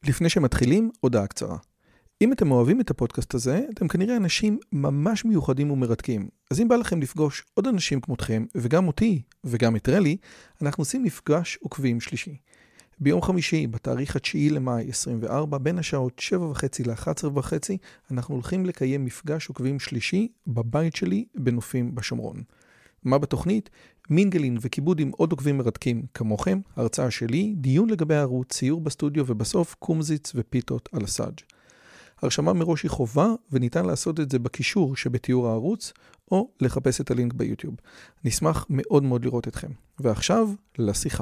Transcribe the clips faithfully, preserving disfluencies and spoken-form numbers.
לפני שמתחילים, הודעה קצרה. אם אתם אוהבים את הפודקאסט הזה, אתם כנראה אנשים ממש מיוחדים ומרתקים. אז אם בא לכם לפגוש עוד אנשים כמותכם, וגם אותי, וגם את רלי, אנחנו עושים מפגש עוקבים שלישי. ביום חמישי, בתאריך התשיעי למאי עשרים וארבע, בין השעות שבע וחצי ל-אחת עשרה וחצי, אנחנו הולכים לקיים מפגש עוקבים שלישי בבית שלי בנופים בשומרון. מה בתוכנית? מינגלין וכיבוד עם עוד עוקבים מרתקים כמוכם, הרצאה שלי, דיון לגבי הערוץ, ציור בסטודיו ובסוף קומזיץ ופיתות על הסאג'. הרשמה מראש היא חובה וניתן לעשות את זה בקישור שבתיאור הערוץ או לחפש את הלינק ביוטיוב. נשמח מאוד מאוד לראות אתכם. ועכשיו לשיחה.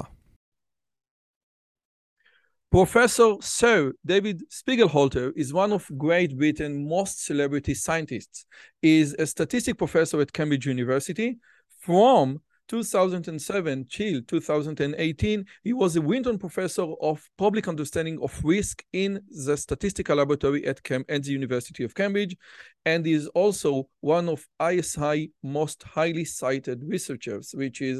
Professor Sir David Spiegelhalter is one of Great Britain's most celebrity scientists. He is a statistics professor at Cambridge University. From two thousand seven till two thousand eighteen, he was a Winton Professor of Public Understanding of Risk in the Statistical Laboratory at, Cam- at the University of Cambridge, and he is also one of I S I most highly cited researchers, which is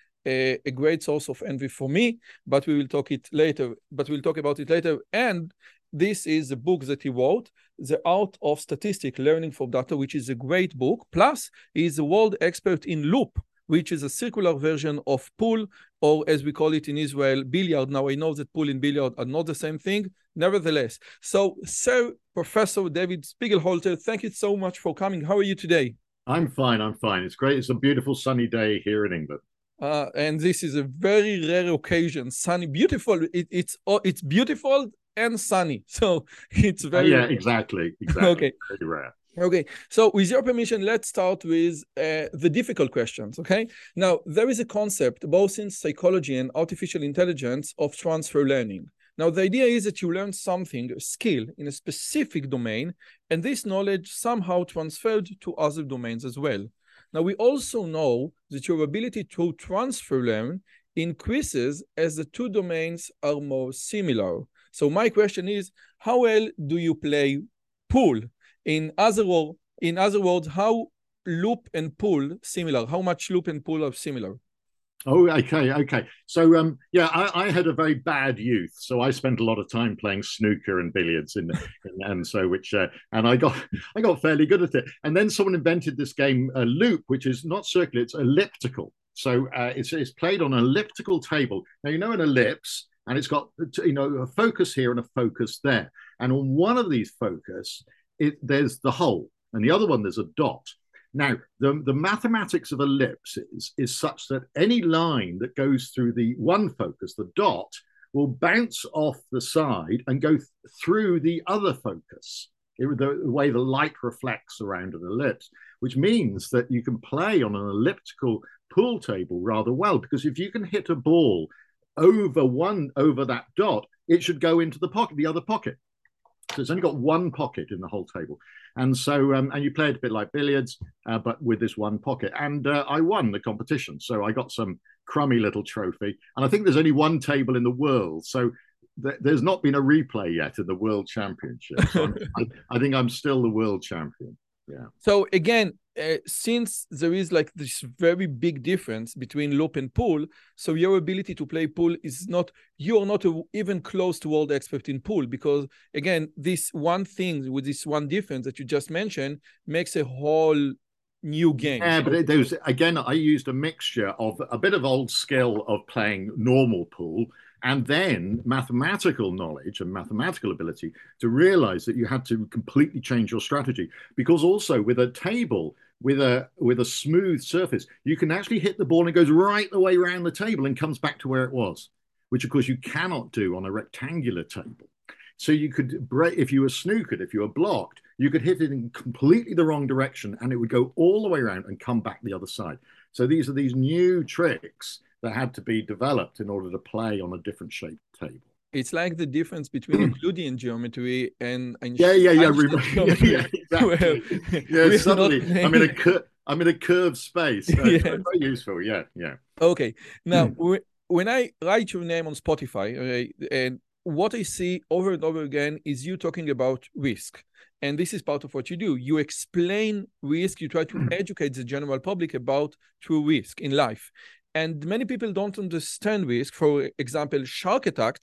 a, a great source of envy for me, but we will talk it later. But we'll talk about it later. And this is a book that he wrote, The Art of Statistics Learning from Data, which is a great book. Plus, he is a world expert in loop, which is a circular version of pool, or as we call it in Israel, billiard. Now, I know that pool and billiard are not the same thing. Nevertheless, so Sir Professor David Spiegelhalter, thank you so much for coming. How are you today? I'm fine, I'm fine. It's great. It's a beautiful sunny day here in England. Uh, and this is a very rare occasion. Sunny, beautiful. It, it's, oh, it's beautiful and sunny. So it's very... Uh, yeah, exactly. Exactly. Okay. Very rare. Okay, so with your permission, let's start with uh, the difficult questions, okay? Now, there is a concept, both in psychology and artificial intelligence, of transfer learning. Now, the idea is that you learn something, a skill, in a specific domain, and this knowledge somehow transferred to other domains as well. Now, we also know that your ability to transfer learn increases as the two domains are more similar. So my question is, how well do you play pool? In other, word, in other words, how loop and pool similar? How much loop and pool are similar? Oh, okay, okay. So, um, yeah, I, I had a very bad youth, so I spent a lot of time playing snooker and billiards, in, in, and so which, uh, and I got, I got fairly good at it. And then someone invented this game, uh, loop, which is not circular; it's elliptical. So uh, it's it's played on an elliptical table. Now you know an ellipse, and it's got you know a focus here and a focus there. And on one of these focus, it, there's the hole, and the other one there's a dot. Now, the, the mathematics of ellipses is such that any line that goes through the one focus, the dot, will bounce off the side and go th- through the other focus, it, the, the way the light reflects around an ellipse, which means that you can play on an elliptical pool table rather well, because if you can hit a ball over one, over that dot, it should go into the pocket, the other pocket. So it's only got one pocket in the whole table. And so, um, and you play it a bit like billiards, uh, but with this one pocket. And uh, I won the competition. So I got some crummy little trophy. And I think there's only one table in the world. So th- there's not been a replay yet in the World Championship. So I, I think I'm still the world champion. Yeah. So again, uh, since there is like this very big difference between loop and pool, so your ability to play pool is not, you are not a, even close to world expert in pool, because again, this one thing with this one difference that you just mentioned makes a whole new game. Yeah, but it, there was, again, I used a mixture of a bit of old skill of playing normal pool and then mathematical knowledge and mathematical ability to realize that you had to completely change your strategy. Because also with a table, with a with a smooth surface, you can actually hit the ball and it goes right the way around the table and comes back to where it was, which of course you cannot do on a rectangular table. So you could break, if you were snookered, if you were blocked, you could hit it in completely the wrong direction and it would go all the way around and come back the other side. So these are these new tricks that had to be developed in order to play on a different shaped table. It's like the difference between Euclidean geometry and Einstein. Yeah, yeah, yeah. yeah, yeah exactly. yeah, suddenly I'm in a cur- I'm in a curved space. Uh, yeah. Very useful. Yeah, yeah. Okay. Now, mm. when I write your name on Spotify, okay, and what I see over and over again is you talking about risk. And this is part of what you do. You explain risk. You try to educate the general public about true risk in life. And many people don't understand risk. For example, shark attacks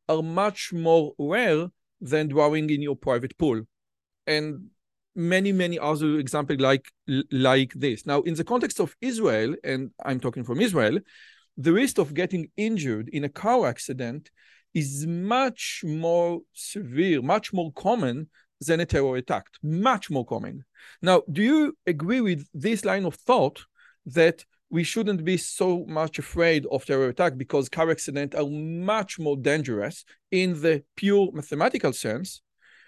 are much more rare than drowning in your private pool. And many, many other examples like, like this. Now, in the context of Israel, and I'm talking from Israel, the risk of getting injured in a car accident is much more severe, much more common than a terror attack, much more common. Now, do you agree with this line of thought that we shouldn't be so much afraid of terror attack because car accidents are much more dangerous in the pure mathematical sense,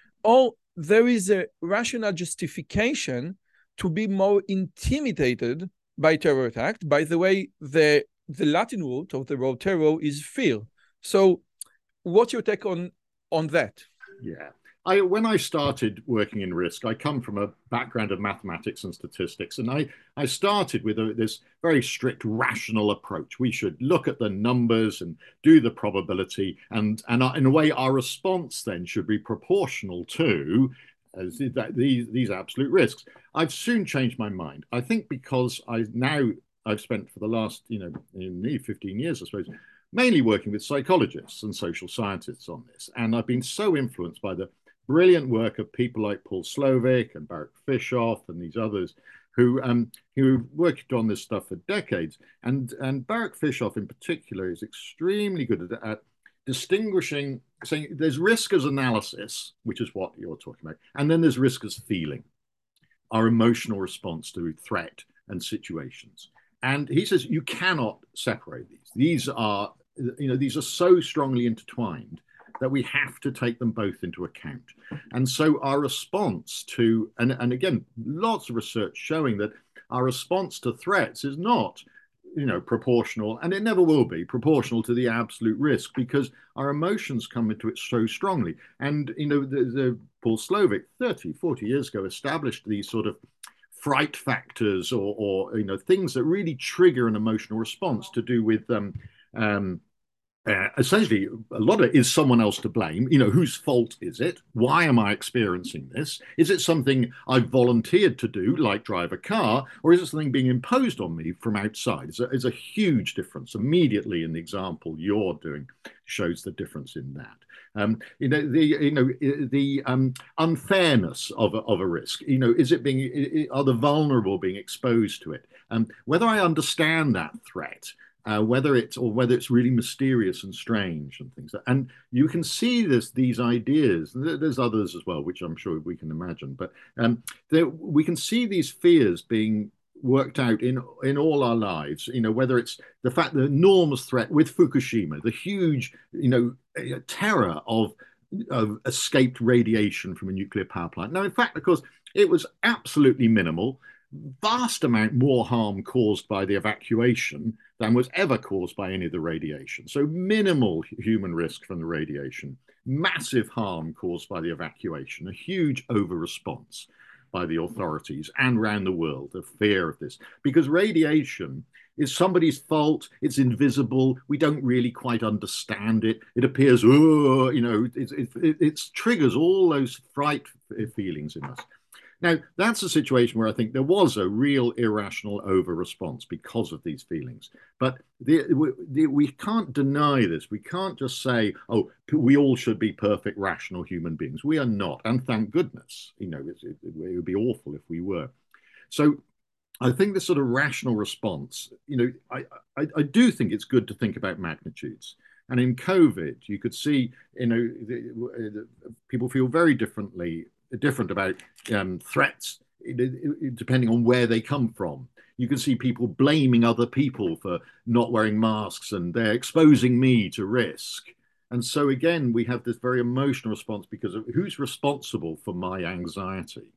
or there is a rational justification to be more intimidated by terror attack? By the way, the, the Latin root of the word terror is fear. So what's your take on, on that? Yeah. I, when I started working in risk, I come from a background of mathematics and statistics, and I, I started with a, this very strict rational approach. We should look at the numbers and do the probability, and, and in a way, our response then should be proportional to uh, these, these absolute risks. I've soon changed my mind. I think because I now I've spent for the last, you know, nearly fifteen years, I suppose, mainly working with psychologists and social scientists on this, and I've been so influenced by the brilliant work of people like Paul Slovic and Baruch Fischoff and these others who um, who worked on this stuff for decades. And, and Baruch Fischoff in particular is extremely good at, at distinguishing, saying there's risk as analysis, which is what you're talking about, and then there's risk as feeling, our emotional response to threat and situations. And he says you cannot separate these. These are, you know, these are so strongly intertwined that we have to take them both into account. And so our response to, and, and again, lots of research showing that our response to threats is not, you know, proportional, and it never will be proportional to the absolute risk, because our emotions come into it so strongly. And, you know, the, the Paul Slovic thirty, forty years ago established these sort of fright factors or, or, you know, things that really trigger an emotional response to do with, um, um, Uh, essentially, a lot of it is someone else to blame. You know, whose fault is it? Why am I experiencing this? Is it something I've volunteered to do, like drive a car, or is it something being imposed on me from outside? It's a, it's a huge difference. Immediately in the example you're doing shows the difference in that. Um, you know, the you know the um, unfairness of a, of a risk. You know, is it being are the vulnerable being exposed to it? Um, whether I understand that threat. Uh, whether it's or whether it's really mysterious and strange and things, and you can see this these ideas. There's others as well, which I'm sure we can imagine, but um, there, we can see these fears being worked out in in all our lives. You know, whether it's the fact the enormous threat with Fukushima, the huge, you know, terror of of escaped radiation from a nuclear power plant. Now, in fact, of course, it was absolutely minimal. Vast amount more harm caused by the evacuation than was ever caused by any of the radiation. So minimal human risk from the radiation, massive harm caused by the evacuation, a huge over-response by the authorities and around the world, the fear of this. Because radiation is somebody's fault, it's invisible, we don't really quite understand it, it appears, oh, you know, it, it, it, it triggers all those fright feelings in us. Now, that's a situation where I think there was a real irrational over-response because of these feelings. But the, the, we can't deny this. We can't just say, oh, we all should be perfect, rational human beings. We are not. And thank goodness. You know, it, it, it would be awful if we were. So I think this sort of rational response, you know, I, I, I do think it's good to think about magnitudes. And in COVID, you could see, you know, the, the, people feel very differently different about um, threats depending on where they come from. You can see people blaming other people for not wearing masks and they're exposing me to risk. And so again, we have this very emotional response because of who's responsible for my anxiety.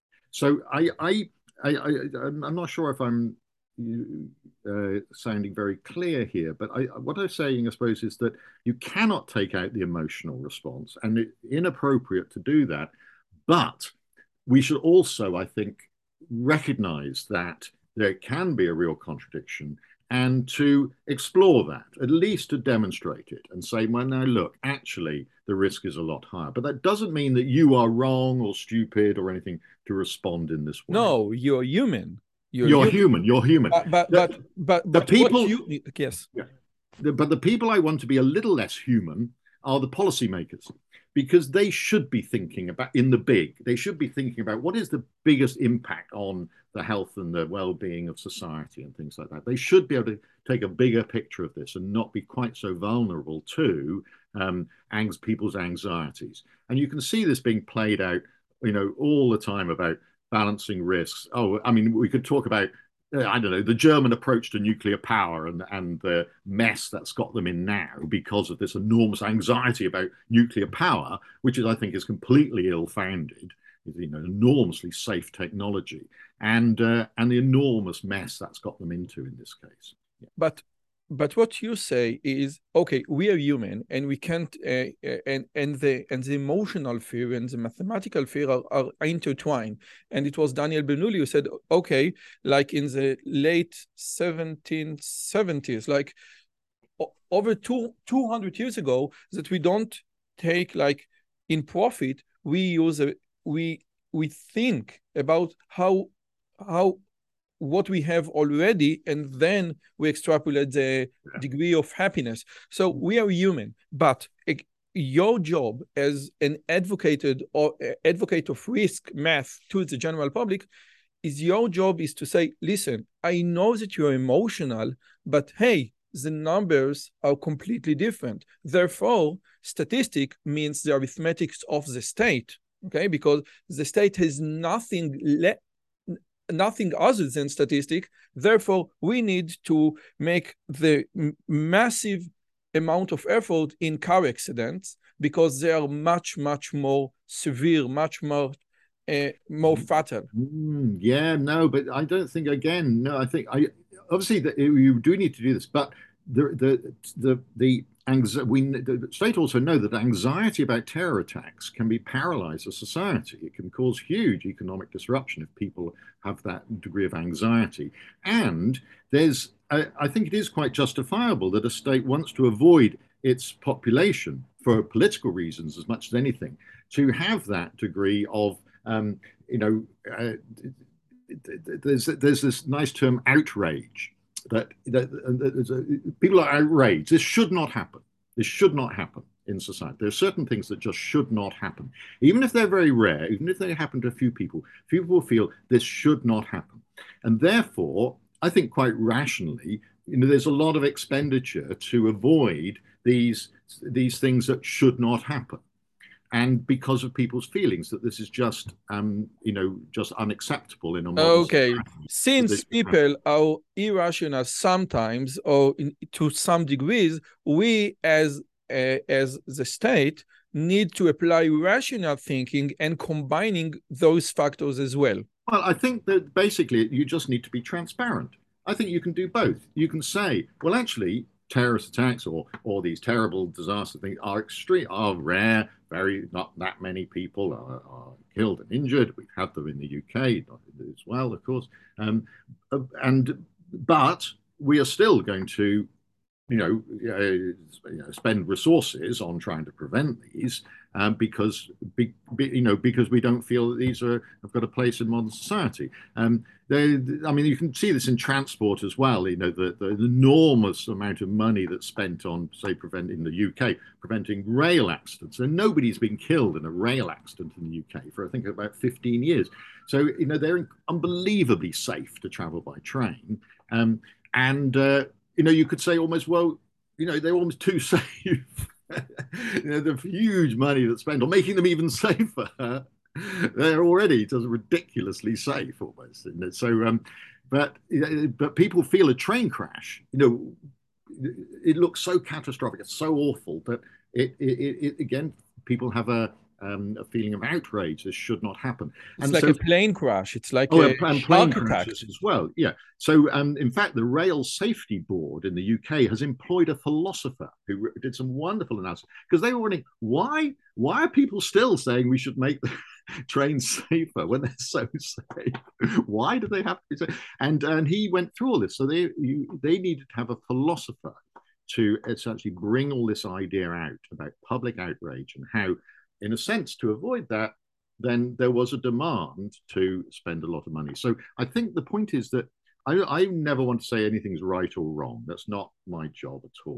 So I, I, I, I I'm not sure if I'm uh, sounding very clear here, but I, what I'm saying, I suppose, is that you cannot take out the emotional response, and it's inappropriate to do that. But we should also, I think, recognize that there can be a real contradiction and to explore that, at least to demonstrate it and say, well, now look, actually, the risk is a lot higher. But that doesn't mean that you are wrong or stupid or anything to respond in this way. No, you're human. You're, you're human. human. You're human. But, but, the, but, but, the but people, you, yes. Yeah, the, but the people I want to be a little less human are the policymakers, because they should be thinking about, in the big, they should be thinking about what is the biggest impact on the health and the well-being of society and things like that. They should be able to take a bigger picture of this and not be quite so vulnerable to um, people's anxieties. And you can see this being played out, you know, all the time about balancing risks. Oh, I mean, we could talk about I don't know, the German approach to nuclear power and, and the mess that's got them in now because of this enormous anxiety about nuclear power, which is, I think, is completely ill-founded. You know, enormously safe technology, and uh, and the enormous mess that's got them into in this case. Yeah. But but what you say is, okay, we are human, and we can't, uh, and and the and the emotional fear and the mathematical fear are, are intertwined. And it was Daniel Bernoulli who said, okay, like in the late seventeen seventies, like over two two hundred years ago, that we don't take like in profit, we use a we we think about how how. what we have already, and then we extrapolate the yeah. degree of happiness. So we are human, but your job as an advocate or advocate of risk math to the general public is your job is to say, listen, I know that you're emotional, but hey, the numbers are completely different. Therefore, statistic means the arithmetics of the state, okay? Because the state has nothing left, nothing other than statistic. Therefore, we need to make the massive amount of effort in car accidents because they are much, much more severe, much more uh, more fatal. Mm, yeah, no, but I don't think, again, no, I think I obviously that you do need to do this, but the the the the we the state also know that anxiety about terror attacks can be paralyze a society. It can cause huge economic disruption if people have that degree of anxiety. And there's, I, I think it is quite justifiable that a state wants to avoid its population for political reasons as much as anything, to have that degree of, um, you know, uh, there's there's this nice term, outrage. That, that, that a, people are outraged. This should not happen. This should not happen in society. There are certain things that just should not happen. Even if they're very rare, even if they happen to a few people, few people feel this should not happen. And therefore, I think quite rationally, you know, there's a lot of expenditure to avoid these, these things that should not happen. And because of people's feelings that this is just, um, you know, just unacceptable in a modern okay. society. Since people are irrational sometimes, or in, to some degrees, we as uh, as the state need to apply rational thinking and combining those factors as well. Well, I think that basically you just need to be transparent. I think you can do both. You can say, well, actually, terrorist attacks or or these terrible disaster things are extreme, are rare. Very not that many people are, are killed and injured. We've had them in the U K as well, of course. Um, and but we are still going to, you know, uh, you know, spend resources on trying to prevent these um, because, be, be, you know, because we don't feel that these are have got a place in modern society. Um, they, I mean, you can see this in transport as well. You know, the, the enormous amount of money that's spent on, say, preventing the U K, preventing rail accidents. And nobody's been killed in a rail accident in the U K for, I think, about fifteen years. So, you know, they're unbelievably safe to travel by train. Um, and, uh, you know, you could say almost, well, you know, they're almost too safe. You know, the huge money that's spent on making them even safer. They're already just ridiculously safe almost. And so, um, but but people feel a train crash. You know, it looks so catastrophic. It's so awful that it, it, it again, people have a um, a feeling of outrage. This should not happen. It's and like so, a plane crash. It's like oh, a and plane crashes as well. Yeah. So, um, in fact, the Rail Safety Board in the U K has employed a philosopher who did some wonderful analysis, because they were wondering why why are people still saying we should make the trains safer when they're so safe? Why do they have to be safe? And and he went through all this. So they you, they needed to have a philosopher to essentially bring all this idea out about public outrage and how, in a sense, to avoid that, then there was a demand to spend a lot of money. So I think the point is that I, I never want to say anything's right or wrong. That's not my job at all.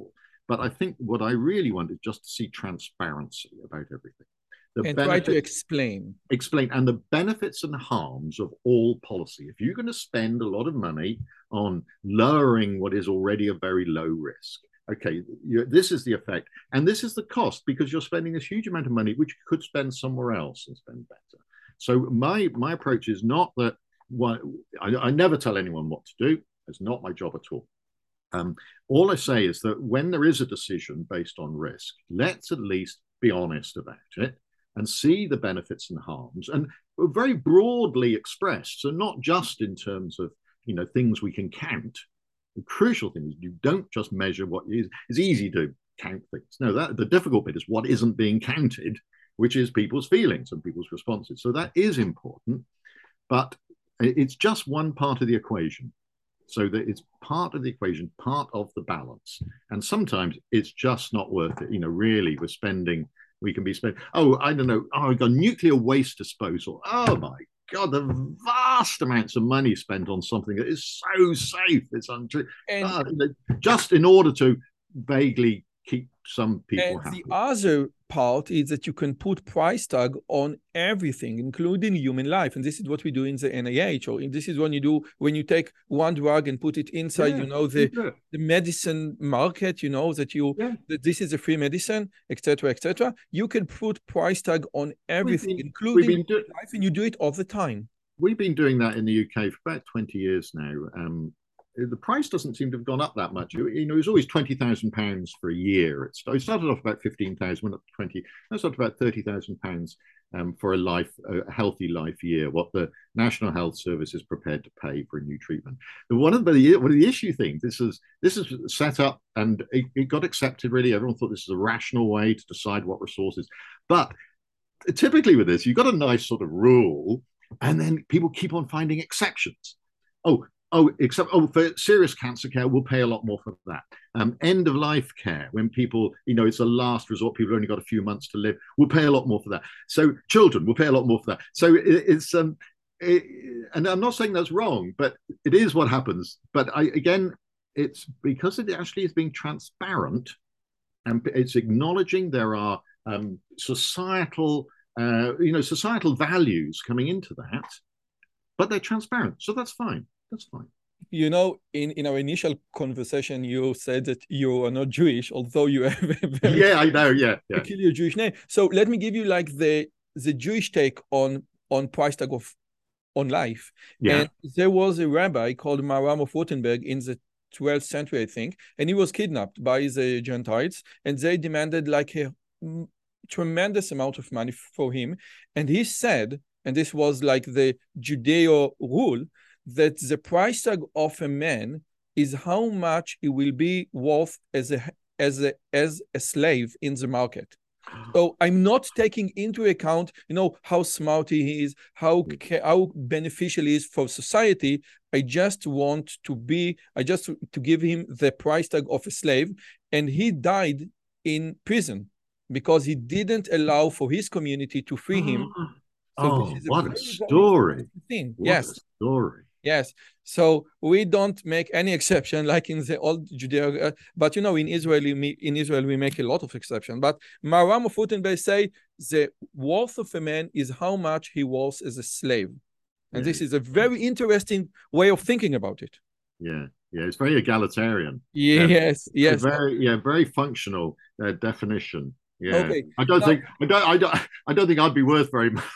But I think what I really want is just to see transparency about everything. The and benefits, try to explain. Explain, and the benefits and harms of all policy. If you're going to spend a lot of money on lowering what is already a very low risk, okay, this is the effect, and this is the cost, because you're spending this huge amount of money which you could spend somewhere else and spend better. So my my approach is not that what I, I never tell anyone what to do. It's not my job at all. Um, all I say is that when there is a decision based on risk, let's at least be honest about it and see the benefits and harms, and very broadly expressed. So not just in terms of, you know, things we can count. The crucial thing is you don't just measure what is. It's easy to count things. No, that the difficult bit is what isn't being counted, which is people's feelings and people's responses. So that is important, but it's just one part of the equation. So that it's part of the equation, part of the balance. And sometimes it's just not worth it. You know, really, we're spending, we can be spending, oh, I don't know, oh, we've got nuclear waste disposal. Oh my God, the vast amounts of money spent on something that is so safe. It's untrue. And, uh, just in order to vaguely keep some people and happy. The other part is that you can put price tag on everything, including human life. And this is what we do in the N I H, or this is what you do when you take one drug and put it inside, yeah, you know, the, the medicine market, you know, that you, yeah. that this is a free medicine, et cetera, et cetera. You can put price tag on everything, been, including do- life, and you do it all the time. We've been doing that in the U K for about twenty years now. Um, the price doesn't seem to have gone up that much. You know, it was always twenty thousand pounds for a year. It started off about fifteen thousand, went up to twenty, that's up to about thirty thousand pounds um, for a life, a healthy life year, what the National Health Service is prepared to pay for a new treatment. And one of the, one of the issue things, this is, this is set up and it, it got accepted really. Everyone thought this is a rational way to decide what resources. But typically with this, you've got a nice sort of rule, and then people keep on finding exceptions. Oh, Oh, except oh, for serious cancer care, we'll pay a lot more for that. Um, end of life care, when people, you know, it's a last resort, people have only got a few months to live, we'll pay a lot more for that. So children, we'll pay a lot more for that. So it, it's um, it, and I'm not saying that's wrong, but it is what happens. But I, again, it's because it actually is being transparent, and it's acknowledging there are um, societal, uh, you know, societal values coming into that, but they're transparent, so that's fine. That's fine. You know, in, in our initial conversation, you said that you are not Jewish, although you have a very yeah, I know, yeah, yeah. peculiar Jewish name. So let me give you like the the Jewish take on on price tag of on life. Yeah. And there was a rabbi called Maharam of Württemberg in the twelfth century, I think, and he was kidnapped by the Gentiles, and they demanded like a tremendous amount of money for him. And he said, and this was like the Judeo rule, that the price tag of a man is how much he will be worth as a as a as a slave in the market. So I'm not taking into account, you know, how smart he is, how how beneficial he is for society. I just want to be, I just to give him the price tag of a slave, and he died in prison because he didn't allow for his community to free him. So oh, this is a what a story! Thing. What yes, a story. Yes, so we don't make any exception like in the old Judeo, uh, but you know, in Israel, in Israel we make a lot of exceptions. But Maharam of Württemberg say the worth of a man is how much he was as a slave, and yeah. This is a very interesting way of thinking about it. Yeah, yeah, it's very egalitarian. Yes, yeah. yes, very yeah, very functional uh, definition. Yeah, okay. I don't now, think I don't I don't I don't think I'd be worth very much.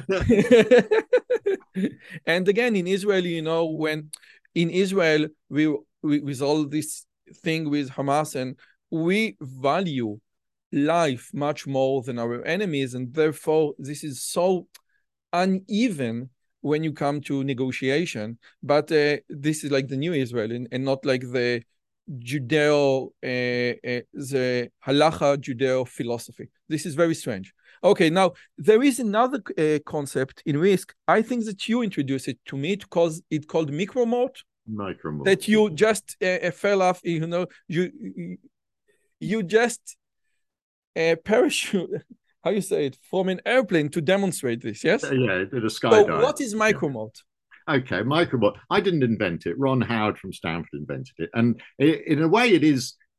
And again, in Israel, you know, when in Israel we, we with all this thing with Hamas, and we value life much more than our enemies, and therefore this is so uneven when you come to negotiation. But uh, this is like the new Israel, and, and not like the Judeo, uh, uh, the halacha Judeo philosophy. This is very strange. Okay, now there is another uh, concept in risk. I think that you introduced it to me because it's called micromort. Micromort. That you just uh, fell off. You know, you you just uh, parachute. How you say it, from an airplane to demonstrate this? Yes. Yeah, did a skydive. So what is micromort? Yeah. Okay, micromort. I didn't invent it. Ron Howard from Stanford invented it. And in a way, it is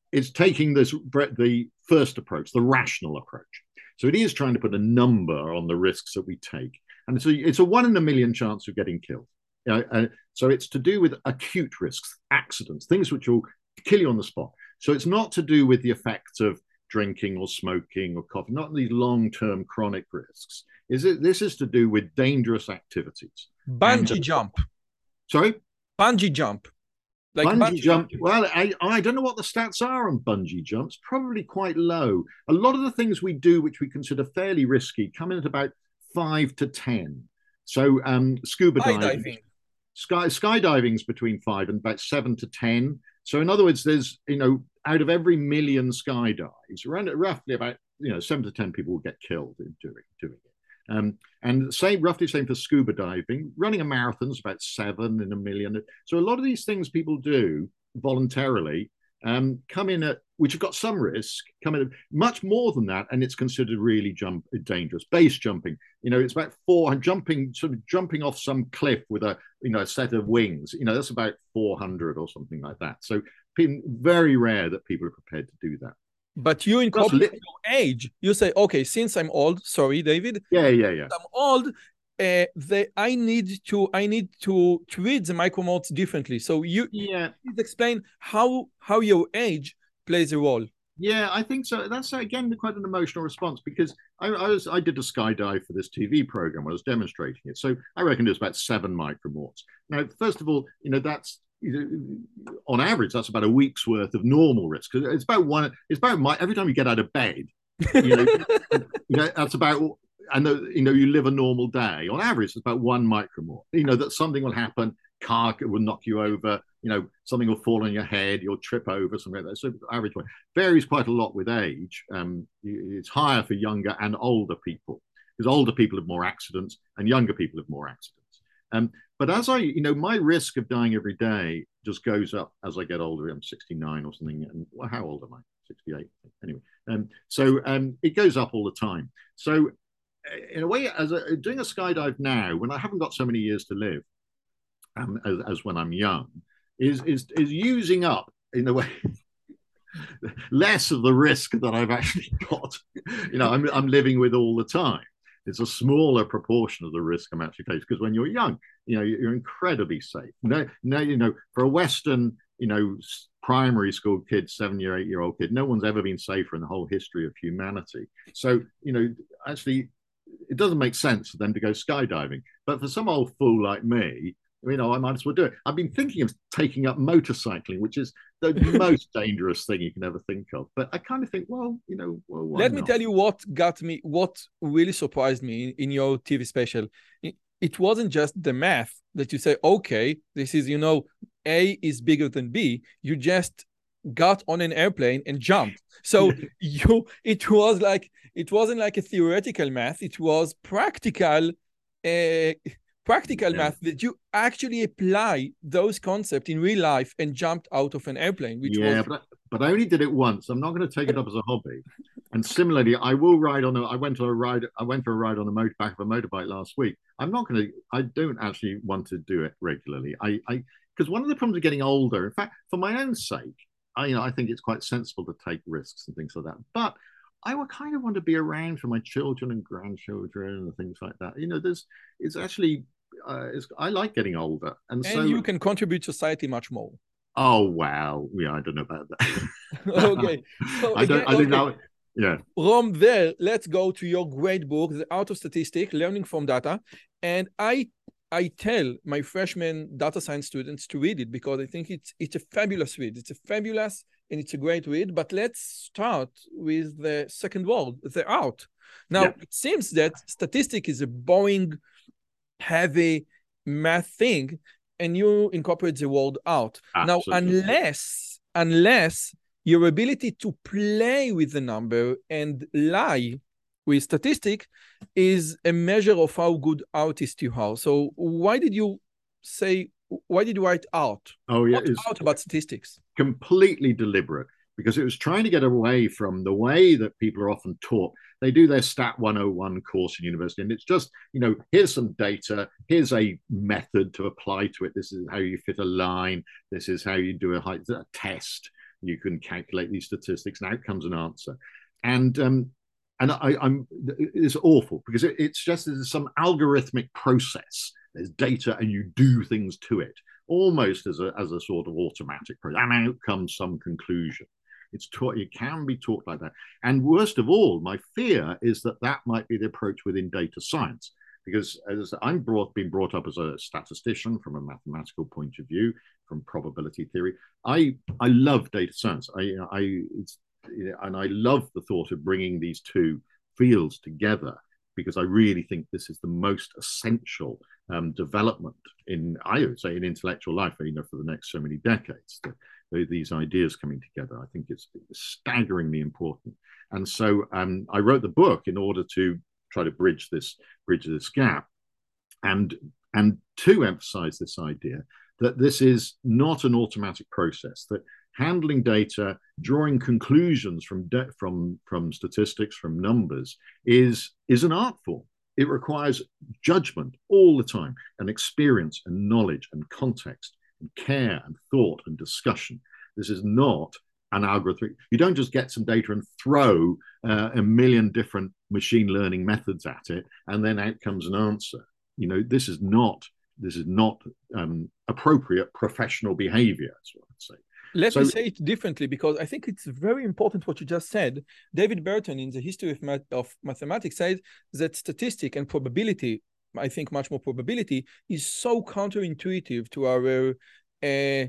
it's taking this the first approach, the rational approach. So it is trying to put a number on the risks that we take, and so it's a one in a million chance of getting killed. You know, uh, so it's to do with acute risks, accidents, things which will kill you on the spot. So it's not to do with the effects of drinking or smoking or coffee, not these long-term chronic risks. Is it? This is to do with dangerous activities. Bungee and, jump. Sorry? Bungee jump. Like bungee, bungee jump. Well, I, I don't know what the stats are on bungee jumps. Probably quite low. A lot of the things we do, which we consider fairly risky, come in at about five to ten. So um, scuba diving, diving. Sky skydiving's between five and about seven to ten. So in other words, there's you know out of every million skydives, around roughly about you know seven to ten people will get killed in doing doing it. Um, and same, roughly same for scuba diving. Running a marathon is about seven in a million. So a lot of these things people do voluntarily um, come in at, which have got some risk, come in at much more than that, and it's considered really jump dangerous. Base jumping, you know, it's about four jumping, sort of jumping off some cliff with a you know a set of wings. You know, that's about four hundred or something like that. So very rare that people are prepared to do that. But you incorporate your age. You say, okay, since I'm old, sorry, David. Yeah, yeah, yeah. I'm old. Uh, they, I need to, I need to treat the micromodes differently. So you, yeah, please explain how how your age plays a role. Yeah, I think so. That's again quite an emotional response because I, I was I did a skydive for this T V program. I was demonstrating it, so I reckon it was about seven micromorts. Now, first of all, you know that's. On average, that's about a week's worth of normal risk. Because it's about one. It's about my, every time you get out of bed, you know, you know that's about. And the, you know, you live a normal day. On average, it's about one micromort. You know that something will happen. Car will knock you over. You know, something will fall on your head. You'll trip over something like that. So average one varies quite a lot with age. Um, it's higher for younger and older people because older people have more accidents and younger people have more accidents. Um, but as I, you know, my risk of dying every day just goes up as I get older. I'm sixty-nine or something. And well, how old am I? sixty-eight. Anyway, um, so um, it goes up all the time. So in a way, as a, doing a skydive now, when I haven't got so many years to live, um, as, as when I'm young, is is is using up in a way less of the risk that I've actually got. You know, I'm I'm living with all the time. It's a smaller proportion of the risk I'm actually facing because when you're young, you know, you're incredibly safe. No, no, you know, for a Western, you know, primary school kid, seven year, eight year old kid, no one's ever been safer in the whole history of humanity. So, you know, actually, it doesn't make sense for them to go skydiving. But for some old fool like me, you know, I might as well do it. I've been thinking of taking up motorcycling, which is the most dangerous thing you can ever think of. But I kind of think, well, you know, well, why let not? me tell you what got me, what really surprised me in, in your T V special. It, it wasn't just the math that you say, okay, this is, you know, A is bigger than B. You just got on an airplane and jumped. So you, it was like, it wasn't like a theoretical math. It was practical. Uh, practical yeah. math that you actually apply those concepts in real life and jumped out of an airplane. Which yeah, was... but, but I only did it once. I'm not going to take it up as a hobby. And similarly, I will ride on a, I went on a ride, I went for a ride on a motor, back of a motorbike last week. I'm not going to, I don't actually want to do it regularly. I, I, because one of the problems of getting older, in fact, for my own sake, I, you know, I think it's quite sensible to take risks and things like that. But I would kind of want to be around for my children and grandchildren and things like that. You know, there's, it's actually, uh, it's, I like getting older. And, and so you can contribute to society much more. Oh, wow. Yeah, I don't know about that. Okay. So I don't, again, I think okay. that, yeah. From there, let's go to your great book, The Art of Statistics, Learning from Data. And I I tell my freshman data science students to read it because I think it's it's a fabulous read. It's a fabulous and it's a great read. But let's start with the second word, the art. Now, yeah. It seems that statistics is a boring, heavy math thing, and you incorporate the word art. Absolutely. Now, unless, unless your ability to play with the number and lie with statistic is a measure of how good artist you are. So why did you say, why did you write art? Oh, yeah. What art about statistics? Completely deliberate, because it was trying to get away from the way that people are often taught. They do their Stat one oh one course in university, and it's just, you know, here's some data, here's a method to apply to it. This is how you fit a line. This is how you do a, a test. You can calculate these statistics, and out comes an answer. And um, and I, I'm it's awful because it, it's just there's some algorithmic process. There's data, and you do things to it, almost as a as a sort of automatic process. And out comes some conclusion. It's taught. It can be taught like that. And worst of all, my fear is that that might be the approach within data science. Because as I'm brought, been brought up as a statistician from a mathematical point of view, from probability theory, I I love data science. I I it's, and I love the thought of bringing these two fields together, because I really think this is the most essential um, development in, I would say, in intellectual life, you know, for the next so many decades. The, these ideas coming together, I think it's staggeringly important. And so um, I wrote the book in order to try to bridge this bridge this gap, and and to emphasize this idea that this is not an automatic process, that handling data, drawing conclusions from from from statistics, from numbers, is is an art form. It requires judgment all the time, and experience and knowledge and context and care and thought and discussion. This is not an algorithm. You don't just get some data and throw uh, a million different machine learning methods at it, and then out comes an answer. You know, this is not this is not um, appropriate professional behavior. That's what I'd say. Let so, me say it differently, because I think it's very important what you just said. David Burton, in the History of, Math of Mathematics, says that statistic and probability, I think much more probability, is so counterintuitive to our uh,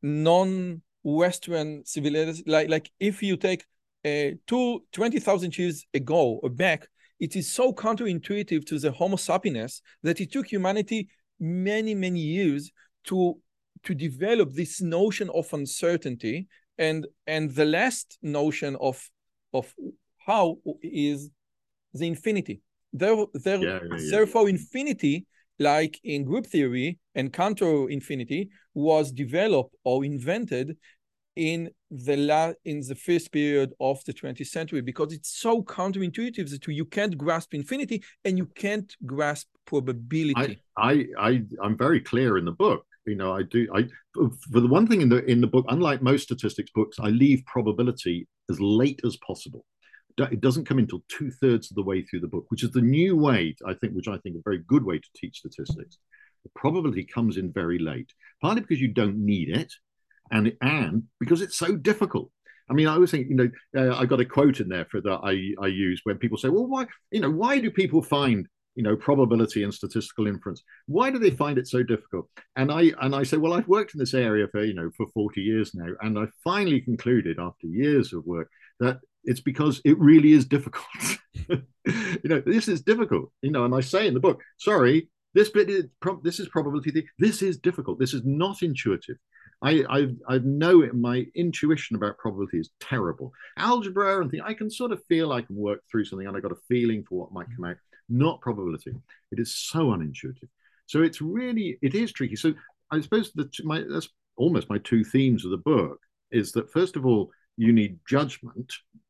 non-Western civilization. Like, like if you take uh, two, twenty thousand years ago or back, it is so counterintuitive to the Homo sapiens that it took humanity many, many years to to develop this notion of uncertainty, and and the last notion of of how is the infinity. There, there, yeah, yeah, yeah. Therefore, infinity, like in group theory, and counter infinity was developed or invented in the la in the first period of the twentieth century, because it's so counterintuitive that you can't grasp infinity and you can't grasp probability. I, I, I I'm very clear in the book. You know, I do. I for the one thing in the in the book, unlike most statistics books, I leave probability as late as possible. It doesn't come until two thirds of the way through the book, which is the new way, I think, which I think is a very good way to teach statistics. The probability comes in very late, partly because you don't need it, and and because it's so difficult. I mean, I was thinking, you know, uh, I got a quote in there for that I I use when people say, well, why, you know, why do people find, you know, probability and statistical inference, why do they find it so difficult? And I and I say, well, I've worked in this area for, you know, for forty years now, and I finally concluded after years of work that it's because it really is difficult. You know, this is difficult, you know, and I say in the book, sorry, this bit is this is probability. This is difficult. This is not intuitive. I I I know my intuition about probability is terrible. Algebra and things, I can sort of feel I can work through something, and I got a feeling for what might come out. Not probability. It is so unintuitive. So it's really, it is tricky. So I suppose that my that's almost my two themes of the book is that, first of all, you need judgment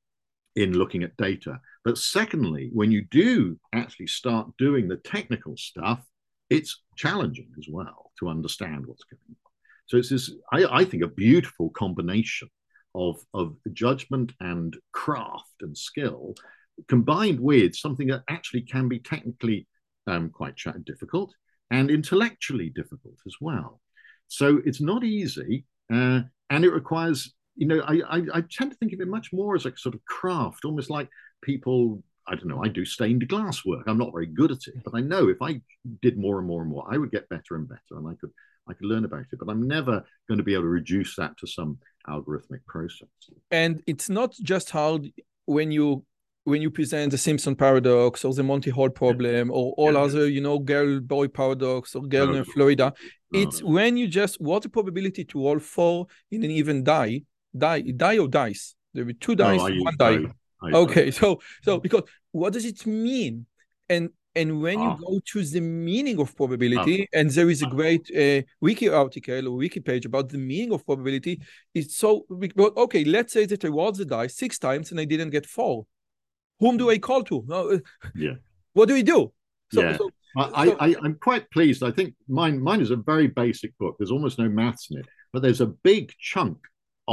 in looking at data. But secondly, when you do actually start doing the technical stuff, it's challenging as well to understand what's going on. So it's this, I, I think, a beautiful combination of, of judgment and craft and skill, combined with something that actually can be technically um, quite difficult and intellectually difficult as well. So it's not easy, uh, and it requires, you know, I, I, I tend to think of it much more as a sort of craft, almost like people, I don't know, I do stained glass work. I'm not very good at it, but I know if I did more and more and more, I would get better and better, and I could I could learn about it, but I'm never going to be able to reduce that to some algorithmic process. And it's not just hard when you when you present the Simpson paradox or the Monty Hall problem, yeah, or all yeah, other, you know, girl-boy paradox or girl no, in Florida. No, it's no. When you just, what's the probability to roll four in an even die? Die, die or dice? There will be two dice, no, one die. I, I, okay, I, so so because what does it mean? And and when ah. you go to the meaning of probability, ah. and there is a great uh, wiki article or wiki page about the meaning of probability, it's so, okay, let's say that I rolled the dice six times and I didn't get four. Whom do I call to? Uh, yeah. What do we do? So, yeah. So, I, so, I, I'm quite pleased. I think mine, mine is a very basic book. There's almost no maths in it, but there's a big chunk of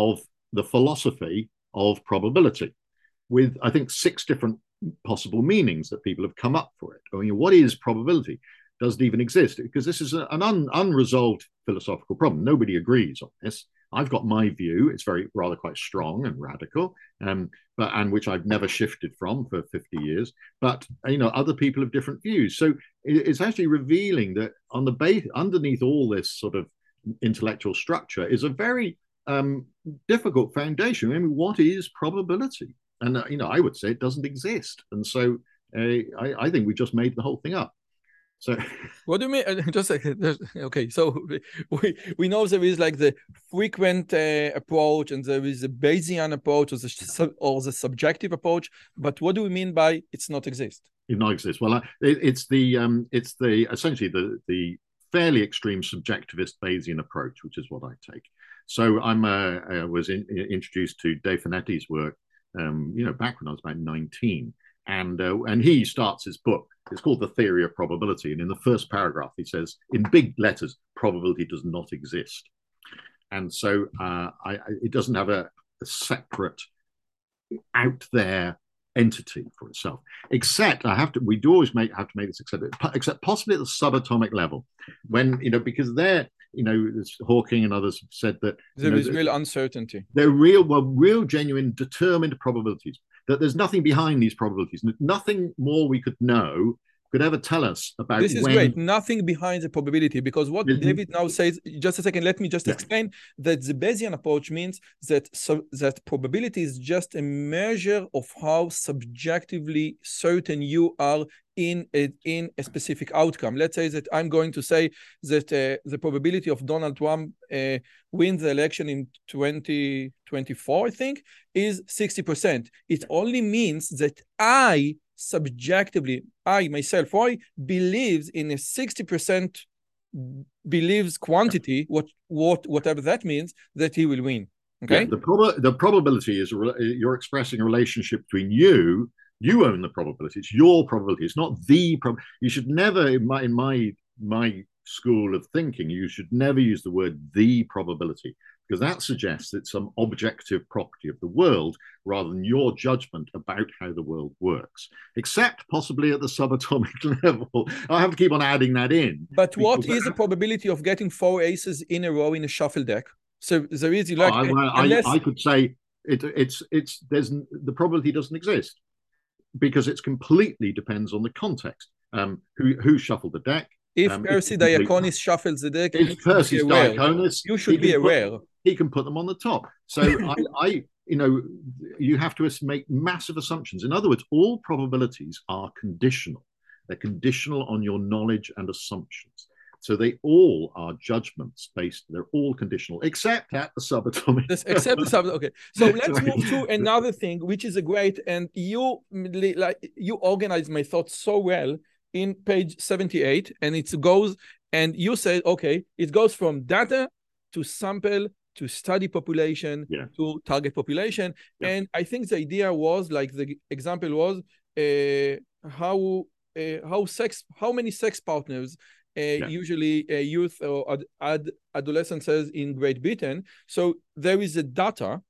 the philosophy of probability with, I think, six different possible meanings that people have come up for it. I mean, what is probability? Does it even exist? Because this is an un, unresolved philosophical problem. Nobody agrees on this. I've got my view. It's very rather quite strong and radical, um, but and which I've never shifted from for fifty years. But you know, other people have different views. So it's actually revealing that on the base, underneath all this sort of intellectual structure, is a very um, difficult foundation. I mean, what is probability? And uh, you know, I would say it doesn't exist. And so uh, I, I think we just made the whole thing up. So what do you mean? Just like, okay, so we we know there is like the frequent uh, approach, and there is a Bayesian approach, or the, or the subjective approach. But what do we mean by it's not exist? It not exist. Well, it, it's the um, it's the essentially the the fairly extreme subjectivist Bayesian approach, which is what I take. So I'm uh, I was in, introduced to Dave Finetti's work, um, you know, back when I was about nineteen. And, uh, and he starts his book. It's called The Theory of Probability. And in the first paragraph, he says, in big letters, probability does not exist. And so uh, I, I, it doesn't have a, a separate, out there entity for itself. Except I have to, we do always make have to make this except, except possibly at the subatomic level, when you know because they're you know Hawking and others have said that there you know, is real uncertainty. They're real, well, real, genuine, determined probabilities. That there's nothing behind these probabilities. Nothing more we could know could ever tell us about this is when... great. Nothing behind the probability, because what mm-hmm. David now says, just a second, let me just yeah. explain that the Bayesian approach means that so that probability is just a measure of how subjectively certain you are in a, in a specific outcome. Let's say that I'm going to say that uh, the probability of Donald Trump uh, wins the election in twenty twenty-four, I think, is sixty percent. It only means that I subjectively, I myself, I believes in a sixty percent believes quantity, what what whatever that means, that he will win. Okay. Yeah, the prob the probability is you're expressing a relationship between you. You own the probability. It's your probability. It's not the prob. You should never, in my in my my school of thinking, you should never use the word the probability, because that suggests it's some objective property of the world rather than your judgment about how the world works, except possibly at the subatomic level. I have to keep on adding that in. But what is the probability of getting four aces in a row in a shuffle deck? So there is like, oh, well, unless... I, I could say it, it's it's there's the probability doesn't exist, because it completely depends on the context. Um, who who shuffled the deck? If um, Percy Diakonis shuffles the deck, if Percy Diakonis, you should be aware. Put, he can put them on the top. So I, I, you know, you have to make massive assumptions. In other words, all probabilities are conditional. They're conditional on your knowledge and assumptions. So they all are judgments based. They're all conditional, except at the subatomic. Yes, except the subatomic. Okay, so let's move to another thing, which is a great, and you like you organize my thoughts so well in page seventy-eight, and it goes, and you say, okay, it goes from data to sample to study population yeah. to target population, yeah. and I think the idea was like the example was uh, how uh, how sex how many sex partners. Uh, yeah. Usually uh, youth or ad ad adolescents in Great Britain. So there is a data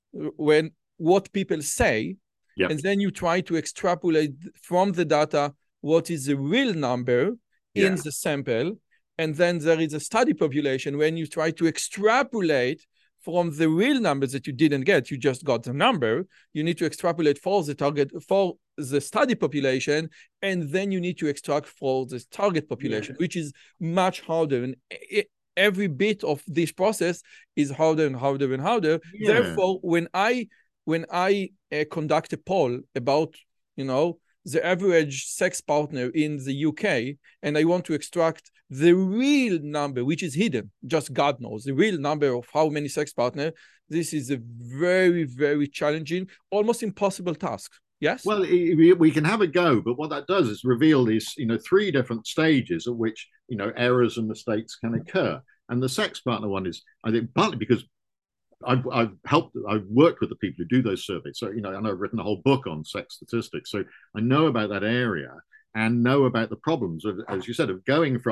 when what people say, yep. and then you try to extrapolate from the data what is the real number yeah. in the sample. And then there is a study population when you try to extrapolate from the real numbers that you didn't get. You just got the number. You need to extrapolate for the target, for the study population, and then you need to extract for the target population, yeah. which is much harder. And it, every bit of this process is harder and harder and harder. Yeah. Therefore, when I when I uh, conduct a poll about, you know, the average sex partner in the U K, and I want to extract the real number, which is hidden, just God knows, the real number of how many sex partners, this is a very, very challenging, almost impossible task. Yes? Well, we can have a go, but what that does is reveal these, you know, three different stages at which, you know, errors and mistakes can occur. And the sex partner one is, I think, partly because I've, I've helped, I've worked with the people who do those surveys. So, you know, and I've written a whole book on sex statistics. So I know about that area and know about the problems of, as you said, of going from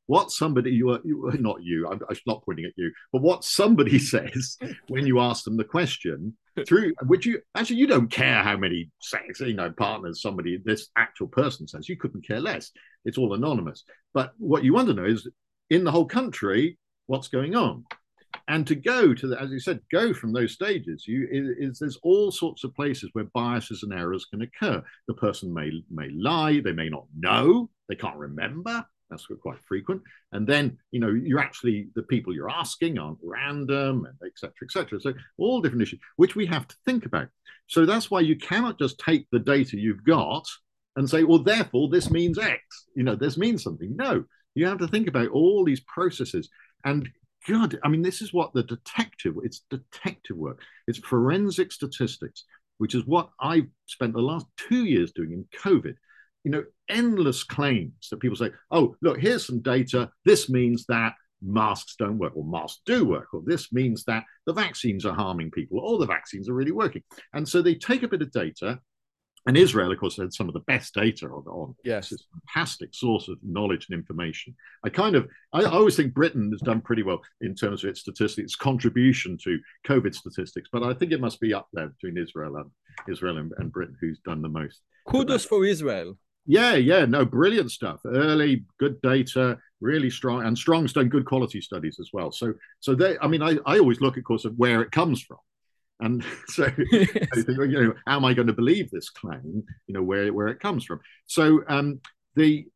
what somebody you are you, not you I'm, I'm not pointing at you, but what somebody says when you ask them the question, through which you actually you don't care how many sex, you know, partners somebody this actual person says. You couldn't care less. It's all anonymous. But what you want to know is, in the whole country, what's going on. And to go to the, as you said, go from those stages, you is, there's all sorts of places where biases and errors can occur. The person may may lie, they may not know, they can't remember. That's quite frequent. And then, you know, you're actually, the people you're asking aren't random, and et cetera, et cetera. So all different issues, which we have to think about. So that's why you cannot just take the data you've got and say, well, therefore this means X. You know, this means something. No, you have to think about all these processes. And God, I mean, this is what the detective, it's detective work. It's forensic statistics, which is what I've spent the last two years doing in COVID. You know, endless claims that people say, oh, look, here's some data. This means that masks don't work, or masks do work, or this means that the vaccines are harming people, or the vaccines are really working. And so they take a bit of data. And Israel, of course, had some of the best data on, on yes. It's a fantastic source of knowledge and information. I kind of, I, I always think Britain has done pretty well in terms of its statistics, its contribution to COVID statistics, but I think it must be up there between Israel and Israel and, and Britain, who's done the most. Kudos for Israel. Yeah, yeah, no, brilliant stuff. Early, good data, really strong, and Strong's done good quality studies as well. So, so they, I mean, I, I always look, of course, at where it comes from. And so I think, you know, how am I going to believe this claim, you know, where, where it comes from? So um, the,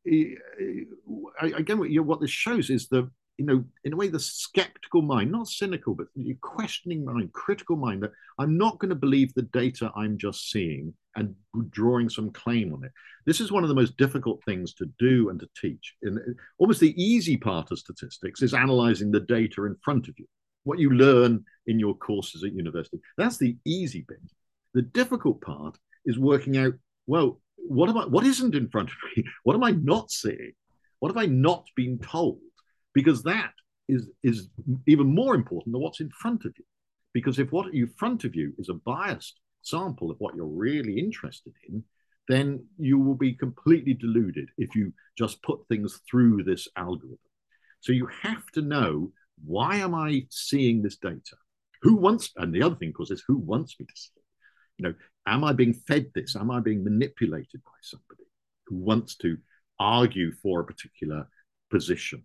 again, what, you know, what this shows is the, you know, in a way, the skeptical mind, not cynical, but the questioning mind, critical mind, that I'm not going to believe the data I'm just seeing and drawing some claim on it. This is one of the most difficult things to do and to teach. And almost the easy part of statistics is analyzing the data in front of you. What you learn in your courses at university. That's the easy bit. The difficult part is working out, well, what am I, what isn't in front of me? What am I not seeing? What have I not been told? Because that is, is even more important than what's in front of you. Because if what in front of you is a biased sample of what you're really interested in, then you will be completely deluded if you just put things through this algorithm. So you have to know, why am I seeing this data? Who wants, and the other thing, of course, is who wants me to see it? You know, am I being fed this? Am I being manipulated by somebody who wants to argue for a particular position?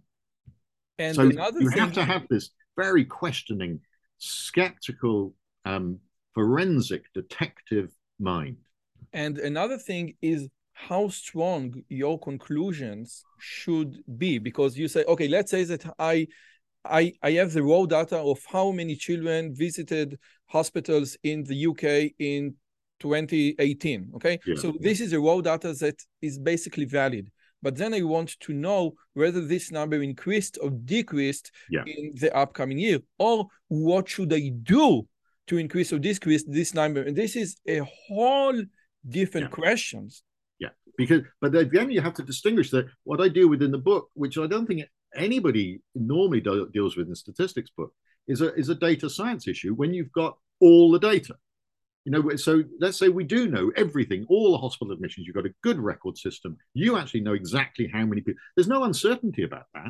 And so another you thing... have to have this very questioning, skeptical, um, forensic, detective mind. And another thing is how strong your conclusions should be, because you say, okay, let's say that I I, I have the raw data of how many children visited hospitals in the U K in twenty eighteen, okay? Yeah, so yeah. This is a raw data that is basically valid. But then I want to know whether this number increased or decreased yeah. in the upcoming year, or what should I do to increase or decrease this number? And this is a whole different yeah. questions. Yeah, because, but again, you have to distinguish that what I do within the book, which I don't think anybody normally do, deals with in statistics book, is a is a data science issue when you've got all the data. You know, so let's say we do know everything, all the hospital admissions, you've got a good record system. You actually know exactly how many people. There's no uncertainty about that.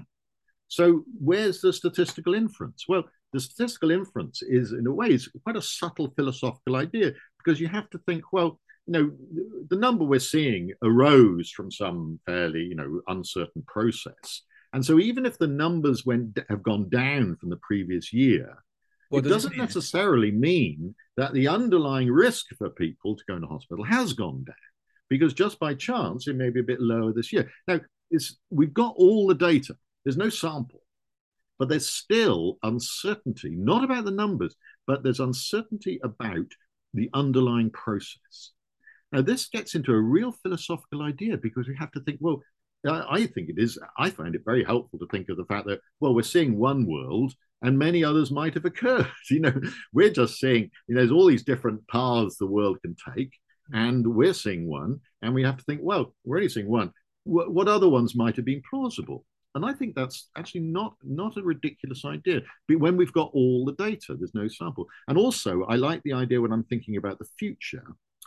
So where's the statistical inference? Well, the statistical inference is, in a way, is quite a subtle philosophical idea, because you have to think, well, you know, the number we're seeing arose from some fairly, you know, uncertain process. And so even if the numbers went have gone down from the previous year, what it does doesn't it necessarily mean that the underlying risk for people to go into hospital has gone down, because just by chance, it may be a bit lower this year. Now, it's, we've got all the data. There's no sample, but there's still uncertainty, not about the numbers, but there's uncertainty about the underlying process. Now, this gets into a real philosophical idea, because we have to think, well, I think it is, I find it very helpful to think of the fact that, well, we're seeing one world and many others might have occurred. You know, we're just seeing, you know, there's all these different paths the world can take, and we're seeing one, and we have to think, well, we're only seeing one. What, what other ones might have been plausible? And I think that's actually not, not a ridiculous idea. But when we've got all the data, there's no sample. And also, I like the idea when I'm thinking about the future,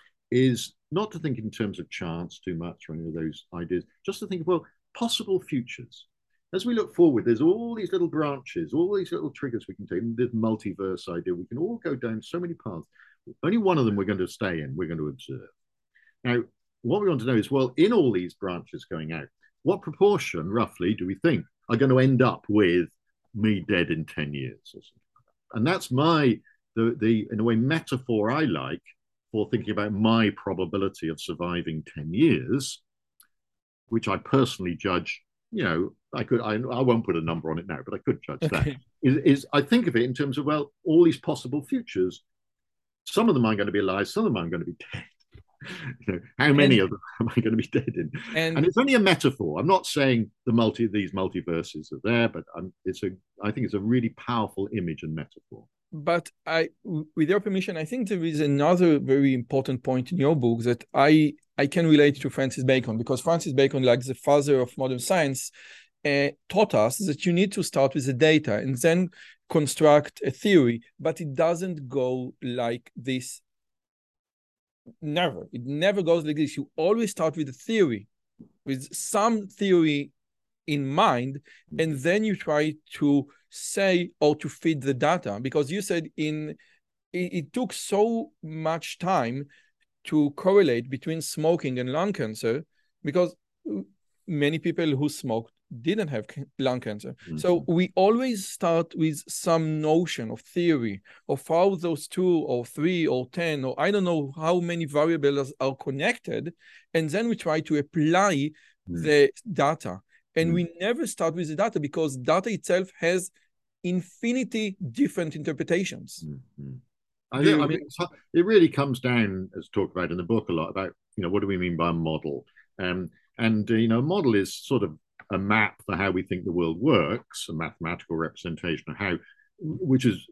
is not to think in terms of chance too much or any of those ideas, just to think of, well, possible futures. as we look forward, there's all these little branches, all these little triggers we can take. This multiverse idea, we can all go down so many paths. Only one of them we're going to stay in, we're going to observe. Now, what we want to know is, well, in all these branches going out, what proportion, roughly, do we think are going to end up with me dead in ten years or something like that? And that's my, the, the in a way, metaphor I like for thinking about my probability of surviving ten years, which I personally judge, you know, I could, I, I won't put a number on it now, but I could judge okay. that, is, is I think of it in terms of, well, all these possible futures. Some of them are going to be alive, some of them are going to be dead. You know, how many and, of them am I going to be dead in? And, and it's only a metaphor. I'm not saying the multi these multiverses are there, but I'm, it's a I think it's a really powerful image and metaphor. But I, with your permission, I think there is another very important point in your book that I I can relate to Francis Bacon, because Francis Bacon, like the father of modern science, uh, taught us that you need to start with the data and then construct a theory, but it doesn't go like this. Never. It never goes like this. You always start with a theory, with some theory in mind, and then you try to say or to feed the data. Because you said in it, it took so much time to correlate between smoking and lung cancer, because many people who smoked didn't have lung cancer. Mm-hmm. So we always start with some notion of theory of how those two or three or ten or I don't know how many variables are connected, and then we try to apply mm-hmm. the data. And mm-hmm. we never start with the data, because data itself has infinity different interpretations. Mm-hmm. I, think, I mean, it really comes down, as talked about in the book a lot, about, you know, what do we mean by a model? Um, and, uh, you know, a model is sort of a map for how we think the world works, a mathematical representation of how, which is,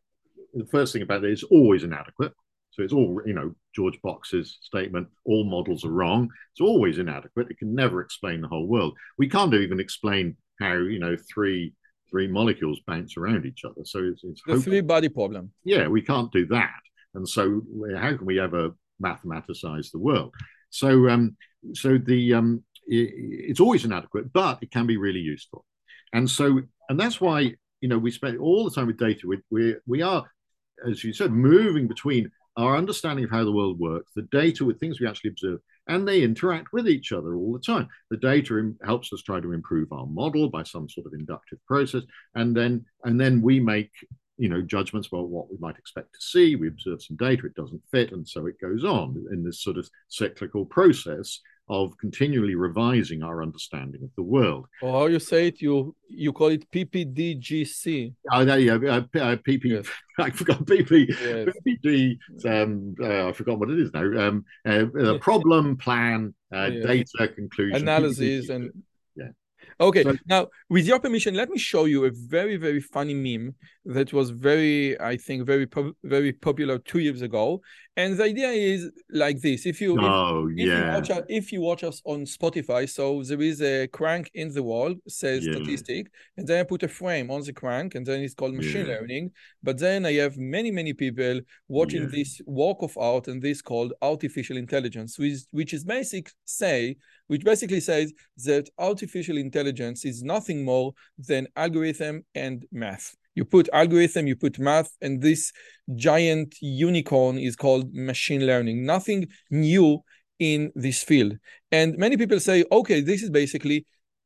the first thing about it is always inadequate. So it's all, you know, George Box's statement, all models are wrong. It's always inadequate. It can never explain the whole world. We can't even explain how, you know, three three molecules bounce around each other. So it's, it's the three-body problem. Yeah, we can't do that. And so how can we ever mathematicize the world? So, um, so the um, it, it's always inadequate, but it can be really useful. And so, and that's why, you know, we spend all the time with data. We we we are, as you said, moving between our understanding of how the world works, the data with things we actually observe, and they interact with each other all the time. The data helps us try to improve our model by some sort of inductive process, and then and then we make, you know, judgments about what we might expect to see. We observe some data, it doesn't fit, and so it goes on in this sort of cyclical process of continually revising our understanding of the world. Or how you say it, you you call it P P D G C. Oh, there you go. Uh, P P, yes. I forgot P P, yes. P P D. Um, uh, I forgot what it is now. Um, uh, uh, problem, plan, uh, yes. data, conclusion, analysis, and yeah. Okay, so, now with your permission, let me show you a very, very funny meme that was very, I think, very, po very popular two years ago. And the idea is like this: if you, oh if, yeah, if you, watch us, if you watch us on Spotify, so there is a crank in the wall says yeah. statistic, and then I put a frame on the crank, and then it's called machine yeah. learning. But then I have many, many people watching yeah. this work of art, and this called artificial intelligence, which which is basic say. which basically says that artificial intelligence is nothing more than algorithm and math. You put algorithm, you put math, and this giant unicorn is called machine learning. Nothing new in this field. And many people say, okay, this is basically,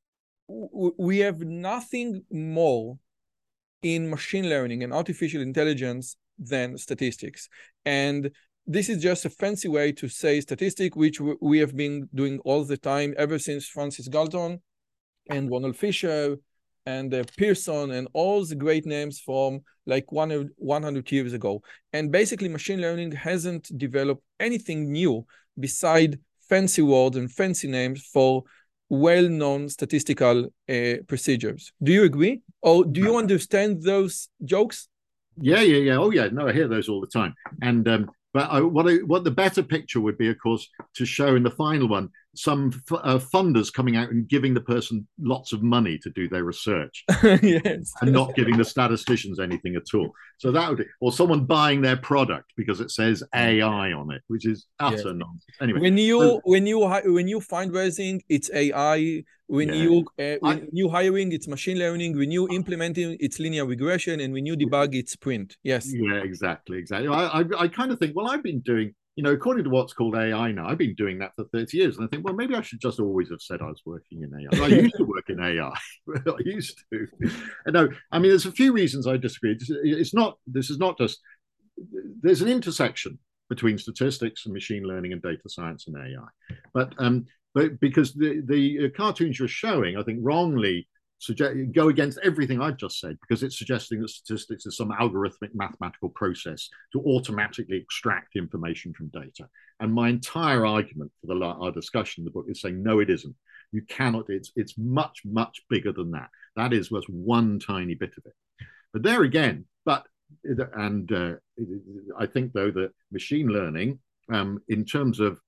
we have nothing more in machine learning and artificial intelligence than statistics. And this is just a fancy way to say statistic, which we have been doing all the time ever since Francis Galton and Ronald Fisher and uh, Pearson and all the great names from like one, one hundred years ago. And basically machine learning hasn't developed anything new beside fancy words and fancy names for well-known statistical uh, procedures. Do you agree? Or do you understand those jokes? Yeah, yeah, yeah. Oh, yeah. No, I hear those all the time. And um, but I, what I, what the better picture would be, of course, to show in the final one some uh, funders coming out and giving the person lots of money to do their research. Yes. And not giving the statisticians anything at all. So that would, or someone buying their product because it says A I on it, which is utter yes. nonsense. Anyway, when you so, when you when you fundraising, it's A I. When yeah. you uh, when I, you hiring, it's machine learning. When you implementing, it's linear regression, and when you debug, it's sprint. Yes. Yeah, exactly, exactly. I I, I kind of think, well, I've been doing. You know, according to what's called A I now, I've been doing that for thirty years. And I think, well, maybe I should just always have said I was working in A I. I used to work in A I. I used to. No, I mean, there's a few reasons I disagree. It's not, this is not just, there's an intersection between statistics and machine learning and data science and A I. But, um, but because the, the cartoons you're showing, I think wrongly, Suggest, go against everything I've just said, because it's suggesting that statistics is some algorithmic mathematical process to automatically extract information from data. And my entire argument for the, our discussion in the book is saying, no, it isn't. You cannot, it's, it's much, much bigger than that. That is was one tiny bit of it. But there again, but, and uh, I think though that machine learning, um, in terms of,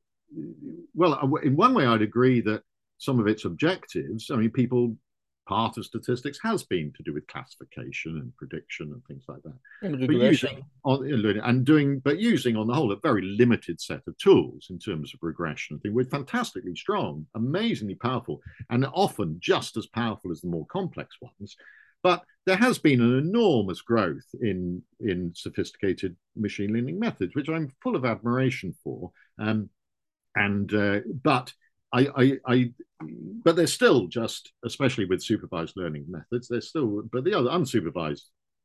well, in one way I'd agree that some of its objectives, I mean, people, part of statistics has been to do with classification and prediction and things like that. And but using on, and doing, but using on the whole a very limited set of tools in terms of regression. I think we're fantastically strong, amazingly powerful, and often just as powerful as the more complex ones. But there has been an enormous growth in in sophisticated machine learning methods, which I'm full of admiration for. Um, and uh, but I, I, I, but they're still just, especially with supervised learning methods, they're still, but the other unsupervised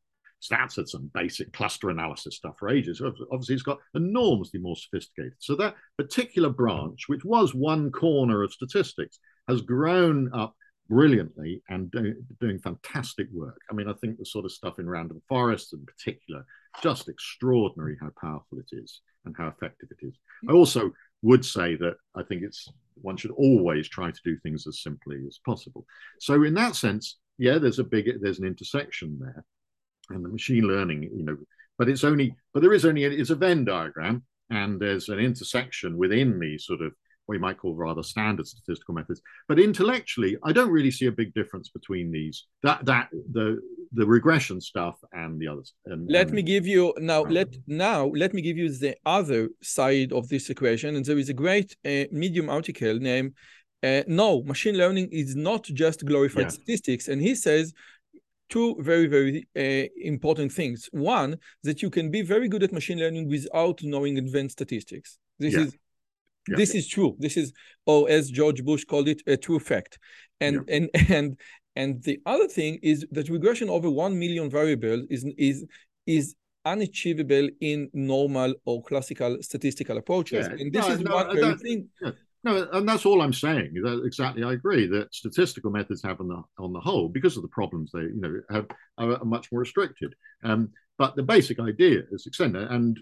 stats had some basic cluster analysis stuff for ages. Obviously, it's got enormously more sophisticated. So that particular branch, which was one corner of statistics, has grown up brilliantly and do, doing fantastic work. I mean, I think the sort of stuff in random forests in particular, just extraordinary how powerful it is and how effective it is. I also would say that I think it's one should always try to do things as simply as possible. So in that sense, yeah, there's a big there's an intersection there, and the machine learning, you know, but it's only but there is only it's a Venn diagram, and there's an intersection within these sort of what you might call rather standard statistical methods. But intellectually, I don't really see a big difference between these that that the the regression stuff and the others. And, let and, me give you now. Let now let me give you the other side of this equation. And there is a great uh, Medium article named uh, "No, Machine Learning is not just glorified yeah. statistics," and he says two very very uh, important things. One, that you can be very good at machine learning without knowing advanced statistics. This yeah. is Yeah. This is true. This is, or as George Bush called it, a true fact. And yeah. and and and the other thing is that regression over one million variables is is is unachievable in normal or classical statistical approaches. Yeah. And this no, is no, one very thing. Yeah. No, and that's all I'm saying. That exactly, I agree that statistical methods have on the on the whole, because of the problems they you know have are much more restricted. Um, but the basic idea is extended, and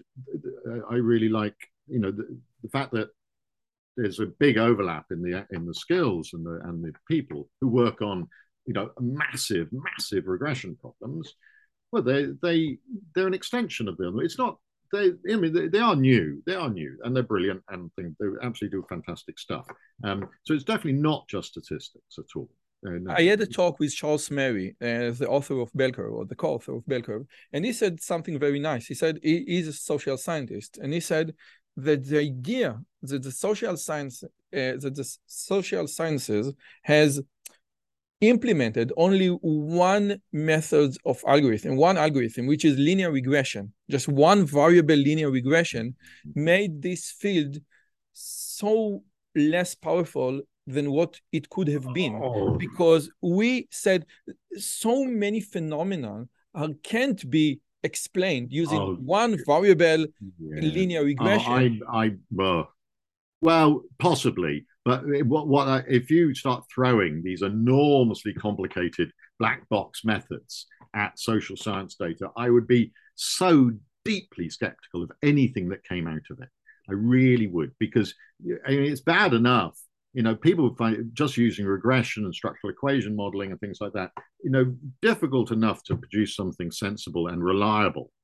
I really like you know the, the fact that there's a big overlap in the in the skills and the and the people who work on you know massive massive regression problems. Well, they they they're an extension of them. It's not they. I mean, they, they are new. They are new, and they're brilliant, and think they absolutely do fantastic stuff. Um, so it's definitely not just statistics at all. Uh, no. I had a talk with Charles Mary, uh, the author of Bell Curve, or the co-author of Bell Curve, and he said something very nice. He said he, he's a social scientist, and he said that the idea that the social science, uh, that the social sciences has implemented only one method of algorithm, one algorithm, which is linear regression, just one variable linear regression, made this field so less powerful than what it could have been, oh. because we said so many phenomena are, can't be explained using oh, one variable yeah. linear regression. Oh, I, I, well, well, possibly, but what, what I, if you start throwing these enormously complicated black box methods at social science data, I would be so deeply skeptical of anything that came out of it. I really would, because I mean, it's bad enough. You know, people find just using regression and structural equation modeling and things like that, you know, difficult enough to produce something sensible and reliable.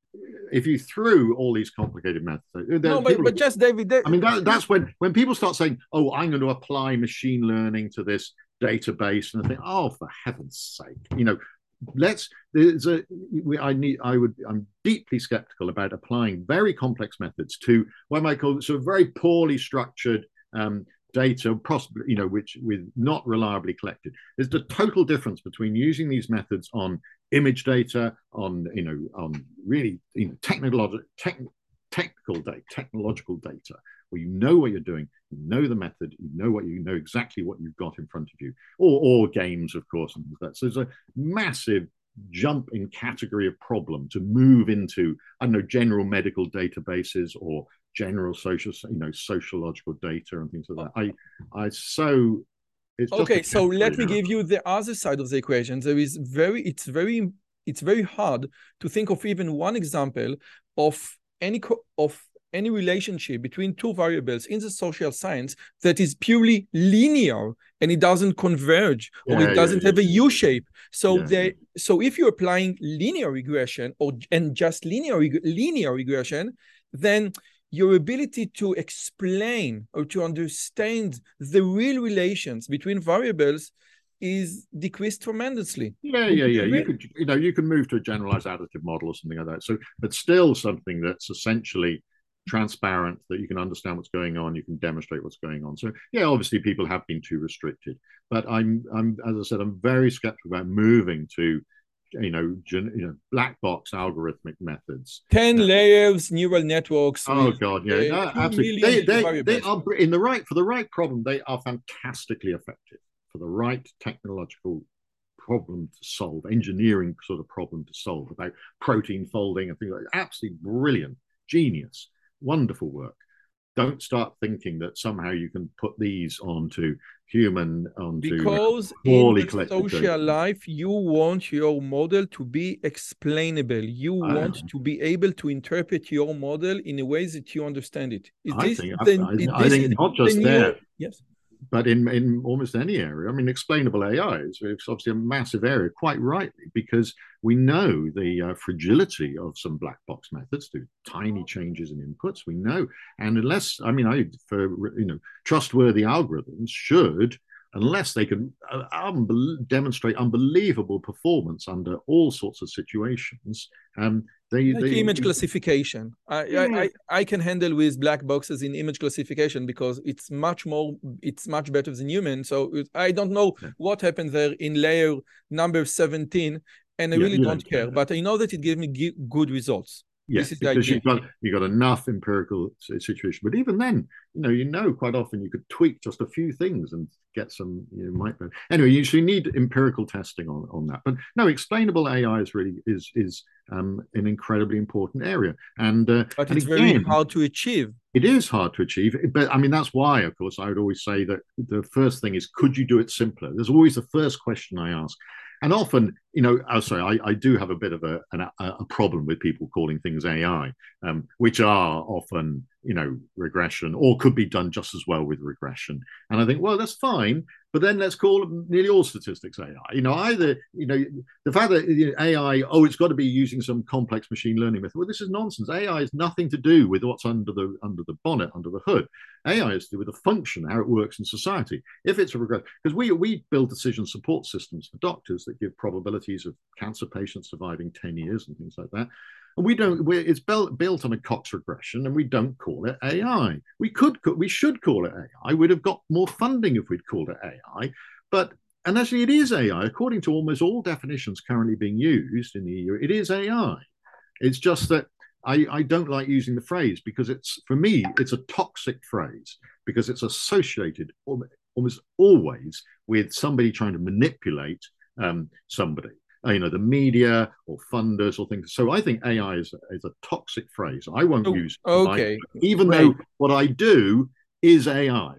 if you threw all these complicated methods, no, but, but just David, they, I mean, that, that's when when people start saying, "Oh, I'm going to apply machine learning to this database," and I think, "Oh, for heaven's sake, you know, let's." There's a, we, I need, I would, I'm deeply skeptical about applying very complex methods to what I might call sort of very poorly structured um, data, possibly, you know, which with not reliably collected. There's the total difference between using these methods on image data, on you know, on really you know, technical, tech, technical data, technological data, where you know what you're doing, you know the method, you know what you know exactly what you've got in front of you, or or games, of course, and that. So there's a massive jump in category of problem to move into, I don't know, general medical databases or general social, you know, sociological data and things like that. I, I so it's just okay. So let me now. give you the other side of the equation. There is very, it's very, it's very hard to think of even one example of any of any relationship between two variables in the social science that is purely linear and it doesn't converge or yeah, it doesn't yeah, have yeah, a U-shape. So yeah, they, yeah. so if you're applying linear regression or and just linear linear regression, then your ability to explain or to understand the real relations between variables is decreased tremendously. Yeah, yeah, yeah. You could, you know, you can move to a generalized additive model or something like that. So, but still something that's essentially transparent, that you can understand what's going on, you can demonstrate what's going on. So, yeah, obviously people have been too restricted, but I'm, I'm, as I said, I'm very skeptical about moving to, you know, gen, you know, black box algorithmic methods. Ten uh, layers, neural networks. Oh God, yeah, no, absolutely. They, they, they are in the right for the right problem. They are fantastically effective for the right technological problem to solve, engineering sort of problem to solve about protein folding and things like that. Absolutely brilliant, genius, wonderful work. Don't start thinking that somehow you can put these onto human, onto because in the social data. life, you want your model to be explainable. You want I, to be able to interpret your model in a way that you understand it. Is I this think, the, I, is I this think not just the there. New, yes. But in, in almost any area, I mean, explainable A I is obviously a massive area, quite rightly, because we know the uh, fragility of some black box methods through tiny changes in inputs. We know, and unless, I mean, I for you know, trustworthy algorithms should, unless they can uh, unbe- demonstrate unbelievable performance under all sorts of situations. Um, They, like they, image classification. I, yeah. I, I I can handle with black boxes in image classification because it's much more, it's much better than human. So I don't know yeah. what happened there in layer number seventeen, and I yeah, really don't, don't care. care. But I know that it gave me good results. Yes, this is because you've got you got enough empirical situation. But even then, you know, you know, quite often you could tweak just a few things and get some, you know, might. Anyway, you should need empirical testing on, on that. But no, explainable A I is really is is um, an incredibly important area. And uh, but and it's again, very hard to achieve. It is hard to achieve. But I mean, that's why, of course, I would always say that the first thing is, could you do it simpler? There's always the first question I ask. And often, you know, oh, sorry, I, I do have a bit of a, an, a problem with people calling things A I, um, which are often, you know, regression, or could be done just as well with regression. And I think, well, that's fine, but then let's call nearly all statistics A I. You know, either, you know, the fact that you know, A I, oh, it's got to be using some complex machine learning method. Well, this is nonsense. A I has nothing to do with what's under the under the bonnet, under the hood. A I is to do with the function, how it works in society. If it's a regression, because we we build decision support systems for doctors that give probabilities of cancer patients surviving ten years and things like that. And we don't. We're, it's built built on a Cox regression, and we don't call it A I. We could, we should call it A I. We'd have got more funding if we'd called it A I. But and actually, it is A I according to almost all definitions currently being used in the E U. It is A I. It's just that I, I don't like using the phrase because it's, for me, it's a toxic phrase because it's associated almost always with somebody trying to manipulate um, somebody. You know, the media or funders or things. So I think A I is, is a toxic phrase. I won't oh, use it, okay. even right. though what I do is A I.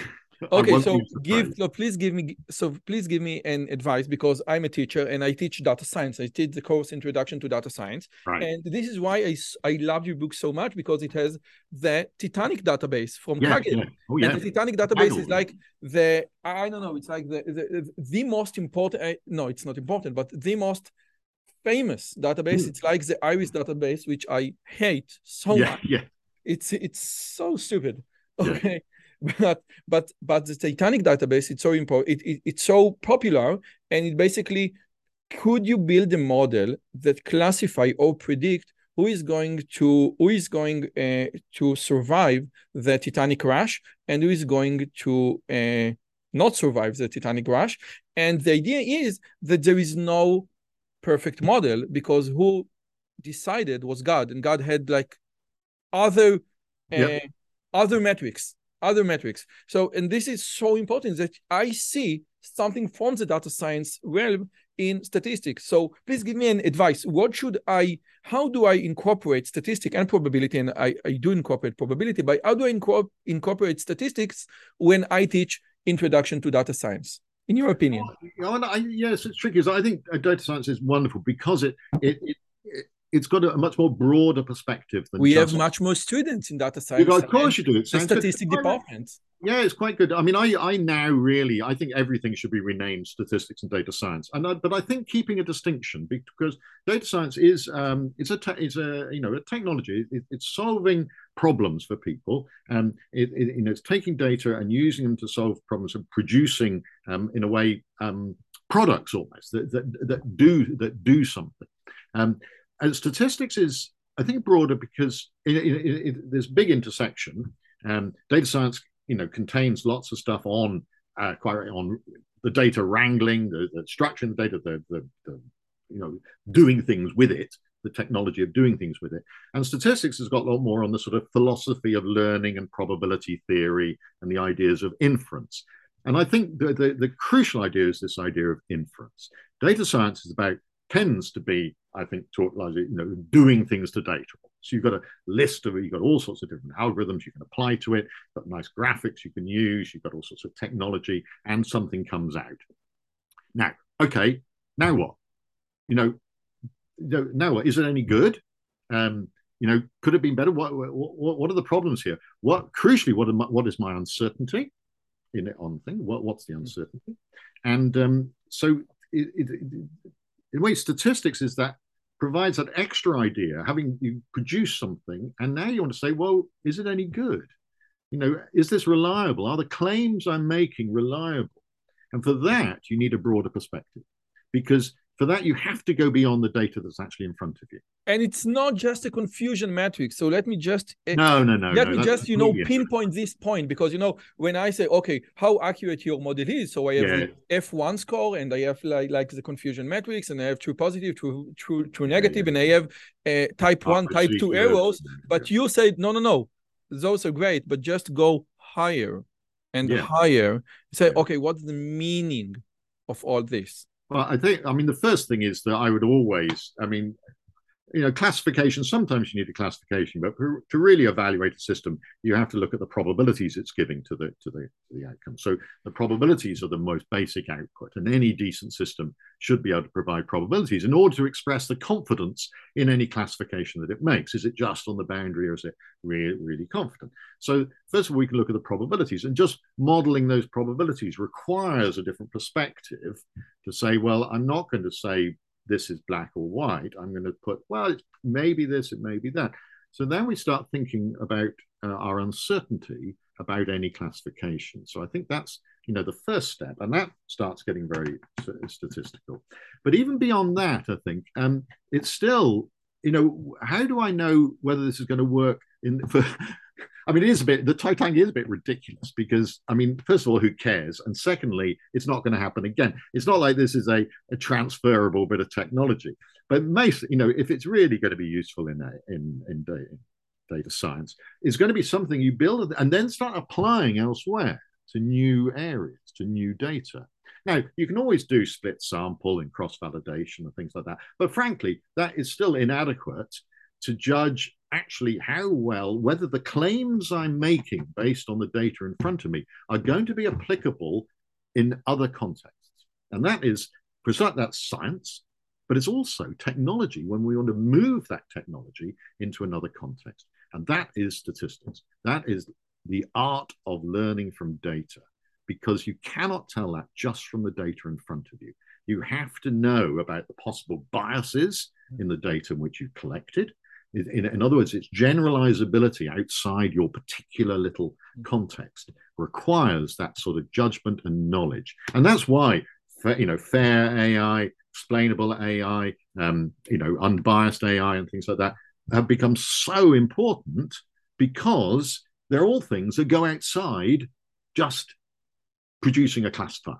Okay, so give so please give me so please give me an advice, because I'm a teacher and I teach data science. I did the course Introduction to Data Science, right. and this is why I, I love your book so much, because it has the Titanic database from yeah, Kaggle. Yeah. Oh, yeah. And the Titanic database Kaggle. is like the I don't know, it's like the the, the most important. No, it's not important, but the most famous database. It's like the Iris database, which I hate so yeah, much. Yeah. It's it's so stupid. Yeah. Okay. But but but the Titanic database, it's so important. It, it, it's so popular, and it basically, could you build a model that classify or predict who is going to who is going uh, to survive the Titanic crash and who is going to uh, not survive the Titanic crash? And the idea is that there is no perfect model, because who decided was God, and God had like other uh, Yep. other metrics, other metrics. So, and this is so important that I see something from the data science realm in statistics. So please give me an advice. What should I, how do I incorporate statistic and probability? And I, I do incorporate probability, but how do I incorpor- incorporate statistics when I teach introduction to data science, in your opinion? Oh, I, yes, it's tricky. I think data science is wonderful because it it, it, it it's got a much more broader perspective than we just. have much more students in data You science. go, of course you do. It the sounds good. statistic department. Yeah, it's quite good. I mean, I, I now really, I think everything should be renamed statistics and data science. And I, but I think keeping a distinction, because data science is, um, it's a, te- it's a, you know, a technology. It, it's solving problems for people. Um, it, it, you know, it's taking data and using them to solve problems and producing, um, in a way, um, products almost that, that that do that do something. Um, and statistics is, I think, broader because it, it, it, there's big intersection. Um, data science, you know, contains lots of stuff on uh, quite on the data wrangling, the, the structuring the data, the, the, the you know doing things with it, the technology of doing things with it. And statistics has got a lot more on the sort of philosophy of learning and probability theory and the ideas of inference. And I think the, the, the crucial idea is this idea of inference. Data science is about tends to be, I think, taught like you know, doing things to data. So you've got a list of, you've got all sorts of different algorithms you can apply to it, you've got nice graphics you can use, you've got all sorts of technology, and something comes out. Now, okay, now what? You know, now what? Is it any good? Um, you know, could it be better? What, what, what are the problems here? What, crucially, what, my, what is my uncertainty in it on thing? What, what's the uncertainty? And um, so it, it, it in a way, statistics is that provides that extra idea, having you produce something, and now you want to say, well, is it any good? You know, is this reliable? Are the claims I'm making reliable? And for that, you need a broader perspective, because for that, you have to go beyond the data that's actually in front of you. And it's not just a confusion matrix. So let me just no, no, no. Let no, me just you know pinpoint this point, because you know when I say, okay, how accurate your model is, so I have yeah. the F one score, and I have like like the confusion matrix, and I have true positive, true true true negative, yeah, yeah. and I have uh, type one, type two errors. But you said no, no, no, those are great, but just go higher and yeah. higher. Say, yeah. okay, what's the meaning of all this? Well, I think, I mean, the first thing is that I would always, I mean, you know, classification, sometimes you need a classification, but for, to really evaluate a system, you have to look at the probabilities it's giving to the, to the, to the outcome. So the probabilities are the most basic output, and any decent system should be able to provide probabilities in order to express the confidence in any classification that it makes. Is it just on the boundary, or is it really, really confident? So first of all, we can look at the probabilities, and just modeling those probabilities requires a different perspective to say, well, I'm not going to say this is black or white. I'm going to put, well, it's maybe this, it may be that. So then we start thinking about uh, our uncertainty about any classification. So I think that's, you know, the first step, and that starts getting very statistical. But even beyond that, I think um, it's still, you know, how do I know whether this is going to work in for I mean, it is a bit, the Titanic is a bit ridiculous because, I mean, first of all, who cares? And secondly, it's not going to happen again. It's not like this is a, a transferable bit of technology. But most, you know, if it's really going to be useful in, in, in, data, in data science, it's going to be something you build and then start applying elsewhere to new areas, to new data. Now, you can always do split sample and cross-validation and things like that. But frankly, that is still inadequate to judge actually how well, whether the claims I'm making based on the data in front of me are going to be applicable in other contexts. And that is, that's science, but it's also technology when we want to move that technology into another context. And that is statistics. That is the art of learning from data. because you cannot tell that just from the data in front of you. You have to know about the possible biases in the data in which you've collected. In, in other words, its generalizability outside your particular little context requires that sort of judgment and knowledge. And that's why, you know, fair A I, explainable A I, um, you know, unbiased A I and things like that have become so important, because they're all things that go outside just producing a classifier.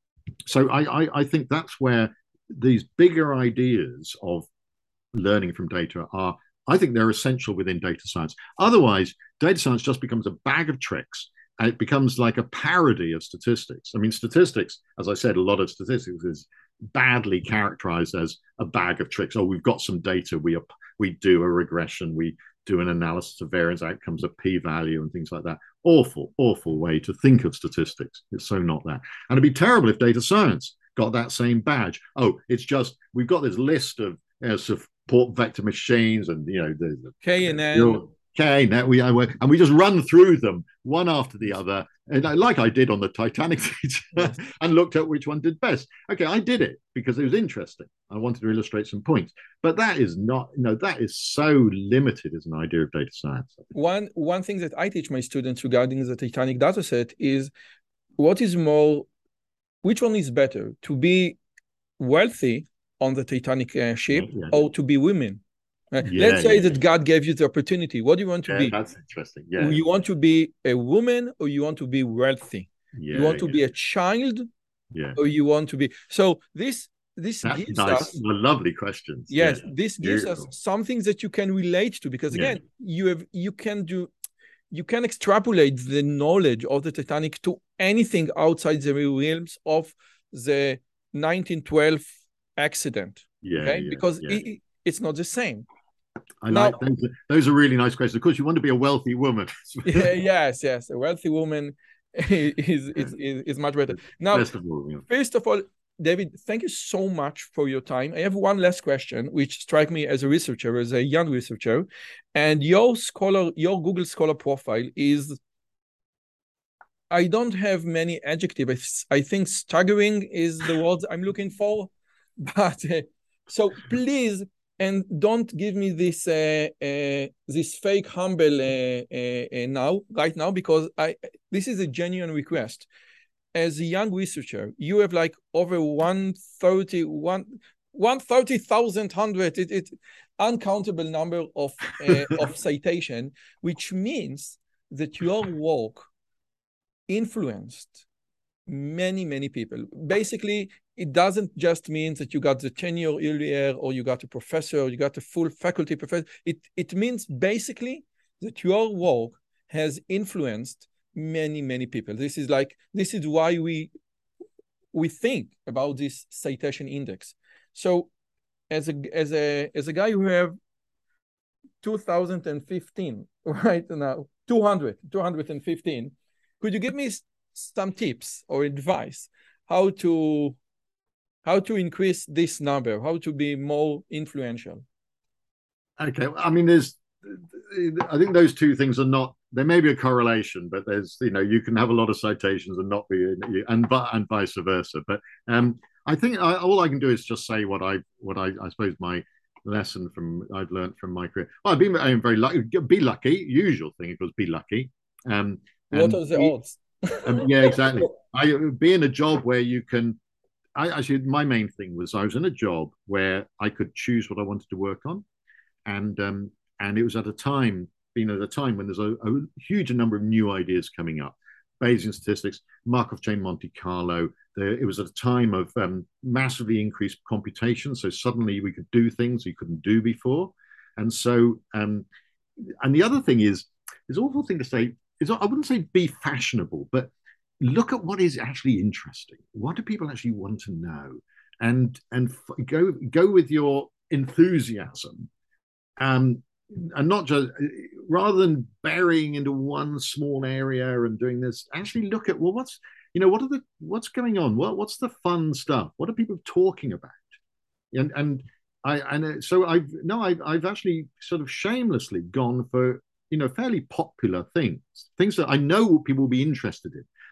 So I, I, I think that's where these bigger ideas of learning from data are, I think they're essential within data science. Otherwise, data science just becomes a bag of tricks, and it becomes like a parody of statistics. I mean, statistics, as I said, a lot of statistics is badly characterized as a bag of tricks. Oh, we've got some data, we we do a regression, we do an analysis of variance outcomes, a p-value and things like that. Awful, awful way to think of statistics. It's so not that. And it'd be terrible if data science got that same badge. Oh, it's just, we've got this list of you know, support vector machines and, you know, the, the K and N. K, now we, and we just run through them one after the other, and I, like I did on the Titanic teacher, yes. and looked at which one did best. Okay, I did it because it was interesting. I wanted to illustrate some points, but that is not, you know, that is so limited as an idea of data science. One one thing that I teach my students regarding the Titanic dataset is what is more, which one is better, to be wealthy on the Titanic uh, ship yeah, yeah. or to be women? Uh, yeah, Let's say yeah, that yeah. God gave you the opportunity. What do you want to yeah, be? That's interesting. Yeah. You want to be a woman, or you want to be wealthy? Yeah, you want to yeah. be a child, yeah. or you want to be? So this this that's gives nice. us Well, lovely questions. Yes, yeah. this gives Beautiful. us something that you can relate to, because again, yeah. you have you can do you can extrapolate the knowledge of the Titanic to anything outside the realms of the nineteen twelve accident. Yeah, okay, yeah, because yeah. It, it's not the same. I now, like those. Those are really nice questions. Of course, you want to be a wealthy woman. yeah, yes, yes, a wealthy woman is is is, is much better. Now, Best of all, yeah. first of all, David, thank you so much for your time. I have one last question, which strike me as a researcher, as a young researcher, and your scholar, your Google Scholar profile is, I don't have many adjectives. I think staggering is the word I'm looking for, but uh, so please. And don't give me this uh, uh, this fake humble uh, uh, uh, now, right now, because I this is a genuine request. As a young researcher, you have like over one thirty, one, one thirty thousand hundred, it, it uncountable number of uh, of citation, which means that your work influenced many, many people. Basically, it doesn't just mean that you got the tenure earlier, or you got a professor, or you got a full faculty professor. It, it means basically that your work has influenced many, many people. This is like, this is why we, we think about this citation index. So as a, as a, as a guy who have two thousand fifteen, right now, two hundred, two hundred fifteen, could you give me some tips or advice how to how to increase this number, how to be more influential? Okay, I mean, there's, I think those two things are not, there may be a correlation, but there's, you know, you can have a lot of citations and not be, and but and vice versa. But um, I think I, all I can do is just say what I what I, I suppose my lesson from I've learned from my career. Well, I've been I'm very lucky. Be lucky. Usual thing, it was be lucky. Um, what are the be, odds? um, yeah, exactly. I be in a job where you can. I actually, my main thing was I was in a job where I could choose what I wanted to work on, and um, and it was at a time, being at a time when there's a, a huge number of new ideas coming up, Bayesian statistics, Markov chain Monte Carlo. There, it was at a time of um, massively increased computation, so suddenly we could do things we couldn't do before, and so um, and the other thing is, it's an awful thing to say. Is I wouldn't say be fashionable, but look at what is actually interesting. What do people actually want to know? And and go go with your enthusiasm, um, and not just, rather than burying into one small area and doing this. Actually, look at, well, what's you know what are the what's going on? What what's the fun stuff? What are people talking about? And and I and so I've no I've I've actually sort of shamelessly gone for, you know, fairly popular things, things that I know people will be interested in.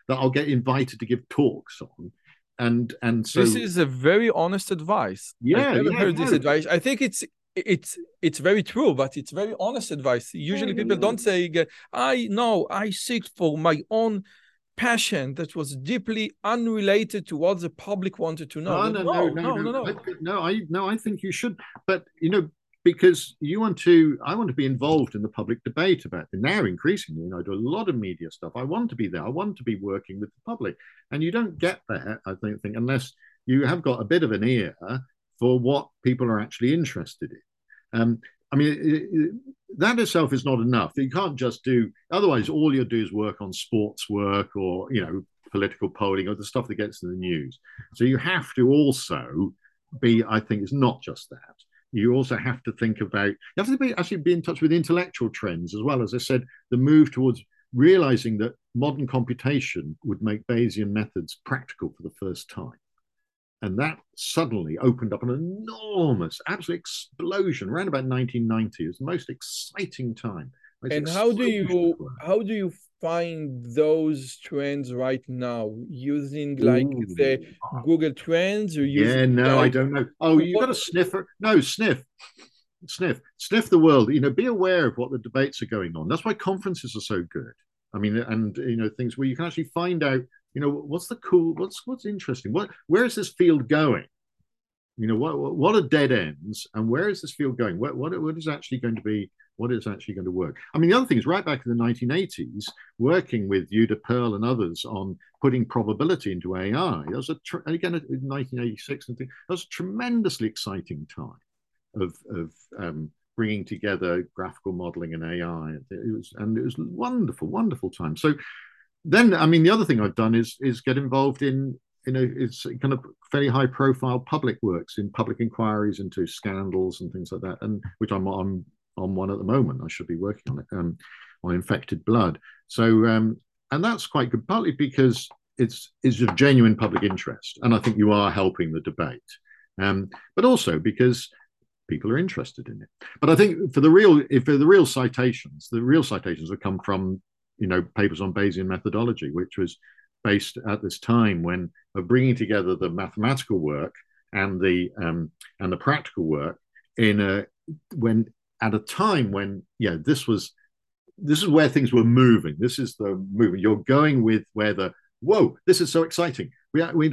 that I'll get invited to give talks on. And and so this is a very honest advice. Yeah, I've never yeah, heard no. this advice. I think it's it's it's very true, but it's very honest advice. Usually yeah, people yeah. don't say, I know, I seek for my own passion that was deeply unrelated to what the public wanted to know. Oh, But no, no, no, no, no, no, no, no. I, no. I no, I think you should. But you know, because you want to, I want to be involved in the public debate about it now. Increasingly, you know, I do a lot of media stuff. I want to be there. I want to be working with the public, and you don't get there, I don't think, unless you have got a bit of an ear for what people are actually interested in. Um, I mean, it, it, that itself is not enough. You can't just do. Otherwise, all you do is work on sports work or you know political polling or the stuff that gets in the news. So you have to also be. I think it's not just that. You also have to think about. You have to be actually be in touch with intellectual trends as well. As I said, the move towards realizing that modern computation would make Bayesian methods practical for the first time. And that suddenly opened up an enormous, absolute explosion around about nineteen ninety. It was the most exciting time. And how do you how do you find those trends right now? Using like Ooh. the Google Trends or using Yeah, no, like, I don't know. Oh, you've got a sniffer. No, sniff. Sniff. Sniff the world. You know, be aware of what the debates are going on. That's why conferences are so good. I mean, and you know, things where you can actually find out you know, what's the cool, what's what's interesting? What where is this field going? You know, what what are dead ends, and where is this field going? What what what is actually going to be? What is actually going to work? I mean, the other thing is, right back in the nineteen eighties, working with Yuda Pearl and others on putting probability into A I. That was a again in nineteen eighty-six, and that was a tremendously exciting time of of um, bringing together graphical modeling and A I. It was and it was wonderful, wonderful time. So. Then, I mean, the other thing I've done is is get involved in, you know, it's kind of fairly high profile public works in public inquiries into scandals and things like that, and which I'm on on one at the moment. I should be working on it um, on infected blood. So, um, and that's quite good, partly because it's it's of genuine public interest, and I think you are helping the debate, um, but also because people are interested in it. But I think for the real, if for the real citations, the real citations have come from you know, papers on Bayesian methodology, which was based at this time when of bringing together the mathematical work and the um, and the practical work in a when at a time when yeah this was this is where things were moving. This is the movement. You're going with where the whoa, this is so exciting. We we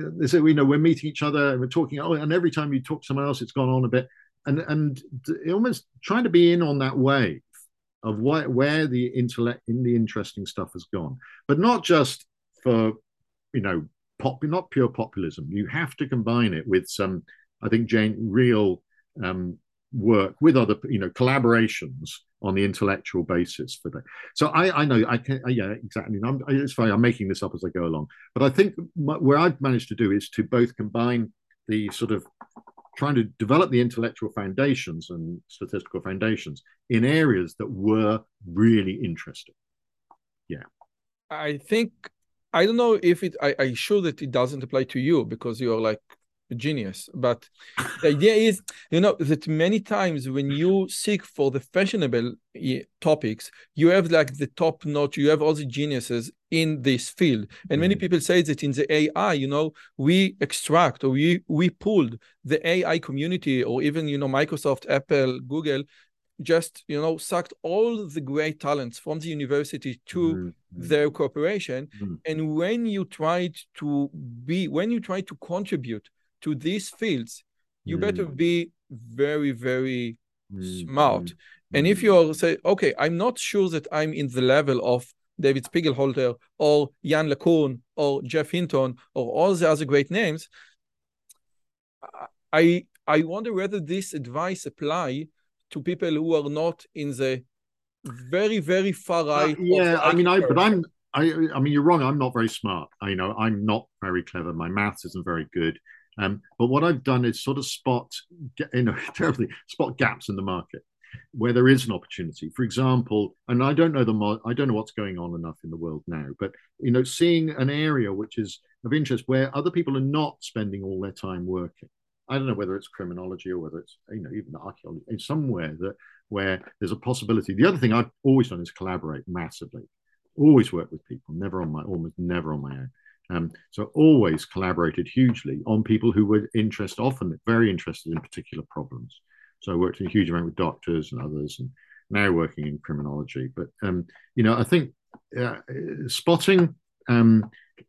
we know we're meeting each other and we're talking. Oh, and every time you talk to someone else, it's gone on a bit, and and almost trying to be in on that wave of what, where the intellect in the interesting stuff has gone, but not just for, you know, pop, not pure populism. You have to combine it with some, I think, Jane, real um, work with other, you know, collaborations on the intellectual basis for that. So I, I know, I can, yeah, exactly. I'm, it's funny, I'm making this up as I go along, but I think my, where I've managed to do is to both combine the sort of trying to develop the intellectual foundations and statistical foundations in areas that were really interesting. Yeah. I think, I don't know if it, I, I'm sure that it doesn't apply to you because you're like a genius, but the idea is, you know, that many times when you seek for the fashionable topics, you have like the top notch, you have all the geniuses in this field. And many people say that in the A I, you know, we extract or we, we pulled the A I community or even, you know, Microsoft, Apple, Google, just, you know, sucked all the great talents from the university to mm-hmm. their corporation. Mm-hmm. And when you tried to be, when you try to contribute to these fields, you mm-hmm. better be very, very mm-hmm. smart. Mm-hmm. And if you are say, okay, I'm not sure that I'm in the level of David Spiegelhalter or Yann LeCun or Geoff Hinton or all the other great names, I I wonder whether this advice apply to people who are not in the very, very far right. Uh, yeah, I mean, I, but I'm, I, I mean, you're wrong. I'm not very smart. I, you know, I'm not very clever. My maths isn't very good. Um, but what I've done is sort of spot, you know, terribly spot gaps in the market where there is an opportunity. For example, and I don't know the, I don't know what's going on enough in the world now, but you know, seeing an area which is of interest where other people are not spending all their time working. I don't know whether it's criminology or whether it's, you know, even archaeology, in somewhere that where there's a possibility. The other thing I've always done is collaborate massively always worked with people, never on my, almost never on my own. Um, so always collaborated hugely on people who were interested, often very interested in particular problems. So I worked in a huge amount with doctors and others, and now working in criminology. But um, you know, I think uh, spotting um,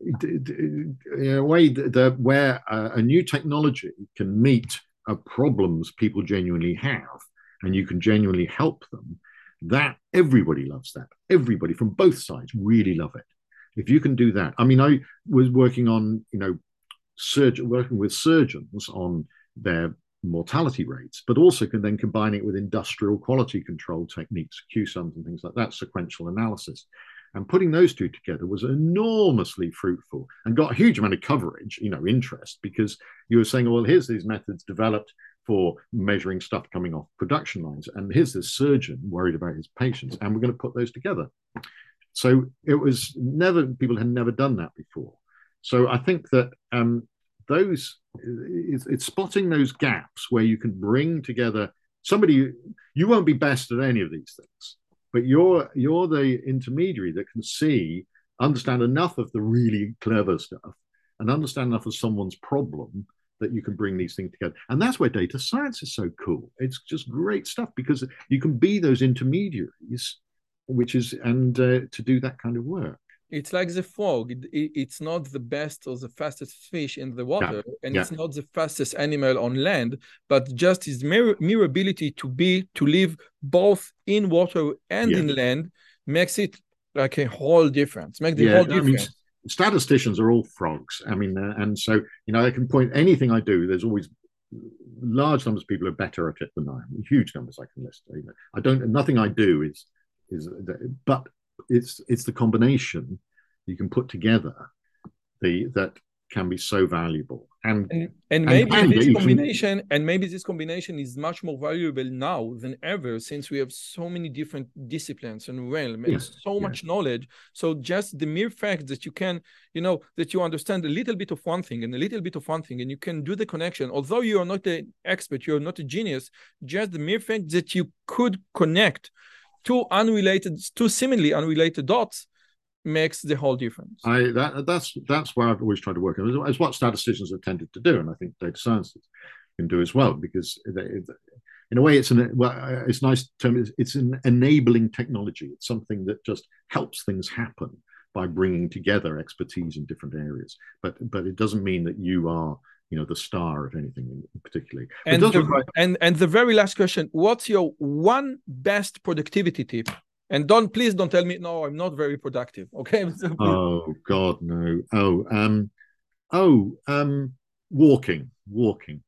in a way that where a, a new technology can meet uh, problems people genuinely have, and you can genuinely help them. That everybody loves that. Everybody from both sides really love it. If you can do that, I mean, I was working on, you know, surgeon working with surgeons on their mortality rates, but also can then combine it with industrial quality control techniques, Q SUMs and things like that, sequential analysis. And putting those two together was enormously fruitful and got a huge amount of coverage, you know, interest, because you were saying, well, here's these methods developed for measuring stuff coming off production lines. And here's this surgeon worried about his patients, and we're going to put those together. So it was never, people had never done that before. So I think that um, those, it's, it's spotting those gaps where you can bring together somebody, you won't be best at any of these things, but you're, you're the intermediary that can see, understand enough of the really clever stuff and understand enough of someone's problem that you can bring these things together. And that's where data science is so cool. It's just great stuff because you can be those intermediaries, which is, and uh, to do that kind of work. It's like the frog. It, it, it's not the best or the fastest fish in the water, yeah. and yeah. it's not the fastest animal on land, but just its mere, mere ability to be, to live both in water and yeah. in land makes it like a whole difference, make the yeah, whole difference. I mean, statisticians are all frogs. I mean, uh, and so, you know, I can point anything I do, there's always large numbers of people who are better at it than I am, huge numbers I can list. You know, I don't, nothing I do is, is, but it's, it's the combination you can put together the, that can be so valuable. And, and, and maybe and this combination, can... and maybe this combination is much more valuable now than ever, since we have so many different disciplines and realms and yes, so yes. much knowledge. So just the mere fact that you can, you know, that you understand a little bit of one thing and a little bit of one thing, and you can do the connection, although you are not an expert, you're not a genius, just the mere fact that you could connect two unrelated, two seemingly unrelated dots makes the whole difference. I that that's that's where I've always tried to work on. It's what statisticians have tended to do, and I think data scientists can do as well. Because they, in a way, it's an well, it's a nice term. It's, it's an enabling technology. It's something that just helps things happen by bringing together expertise in different areas. But but it doesn't mean that you are, you know, the star of anything particularly. And the, require... and and the very last question: what's your one best productivity tip? And don't, please don't tell me, no, I'm not very productive. Okay. Oh God, no. Oh, um, oh, um, walking, walking.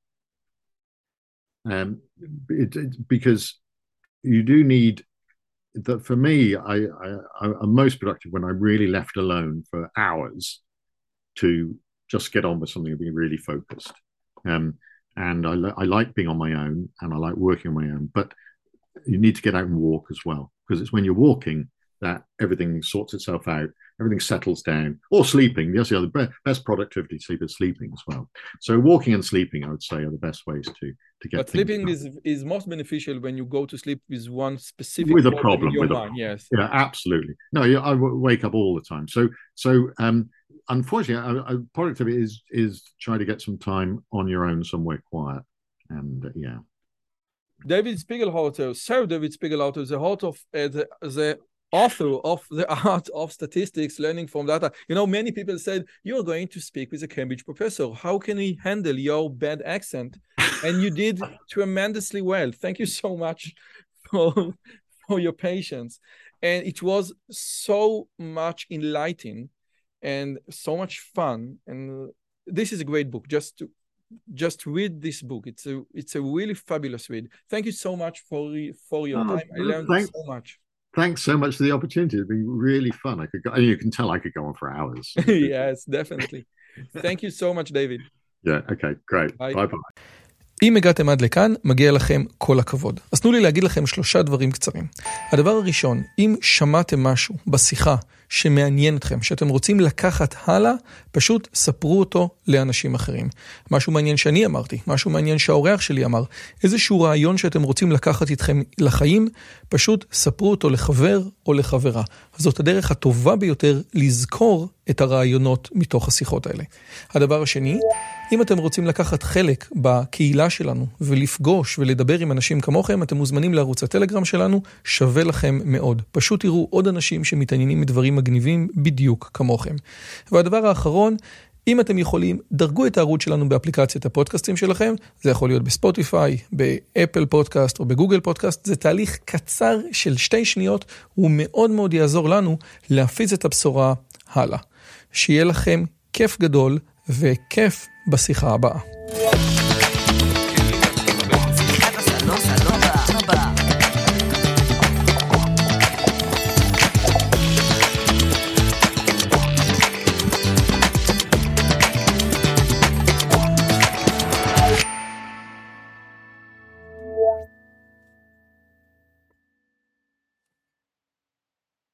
Um, it, it, because you do need that. For me, I, I, I'm most productive when I'm really left alone for hours to just get on with something and be really focused. Um, and I, I like being on my own, and I like working on my own, but you need to get out and walk as well, because it's when you're walking that everything sorts itself out, everything settles down, or sleeping. That's the other best productivity sleep is sleeping as well. So walking and sleeping, I would say, are the best ways to to get. But sleeping is is most beneficial when you go to sleep with one specific with a problem. In your with mind. A, yes, yeah, absolutely. No, I wake up all the time. So so um, unfortunately, I, I, productivity is is trying to get some time on your own somewhere quiet, and uh, yeah. David Spiegelhalter, Sir David Spiegelhalter, the author of uh, the, the author of The Art of Statistics, Learning from Data. You know, many people said, you're going to speak with a Cambridge professor. How can he handle your bad accent? And you did tremendously well. Thank you so much for, for your patience. And it was so much enlightening and so much fun. And this is a great book, just to Just read this book. It's a it's a really fabulous read. Thank you so much for for your oh, time. I learned thanks, so much. Thanks so much for the opportunity. It'd be really fun. I could go, you can tell I could go on for hours. Yes, definitely. Thank you so much, David. Yeah, okay, great. Bye bye. bye. אם הגעתם עד לכאן, מגיע לכם כל הכבוד. אז תנו לי להגיד לכם שלושה דברים קצרים. הדבר הראשון, אם שמעתם משהו בשיחה שמעניין אתכם, שאתם רוצים לקחת הלאה, פשוט ספרו אותו לאנשים אחרים. משהו מעניין שאני אמרתי, משהו מעניין שהאורח שלי אמר, איזשהו רעיון שאתם רוצים לקחת איתכם לחיים, פשוט ספרו אותו לחבר או לחברה. זאת הדרך הטובה ביותר לזכור את הרעיונות מתוך השיחות האלה. הדבר השני, אם אתם רוצים לקחת חלק בקהילה שלנו ולפגוש ולדבר עם אנשים כמוכם, אתם מוזמנים לערוץ הטלגרם שלנו, שווה לכם מאוד. פשוט תראו עוד אנשים שמתעניינים מדברים מגניבים בדיוק כמוכם. והדבר האחרון, אם אתם יכולים, דרגו את הערוץ שלנו באפליקציית הפודקאסטים שלכם, זה יכול להיות בספוטיפיי, באפל פודקאסט או בגוגל פודקאסט, זה תהליך קצר של שתי שניות, הוא מאוד מאוד יעזור לנו להפיץ את הבשורה הלאה. שיהיה לכם כיף גדול וכיף בשיחה הבאה.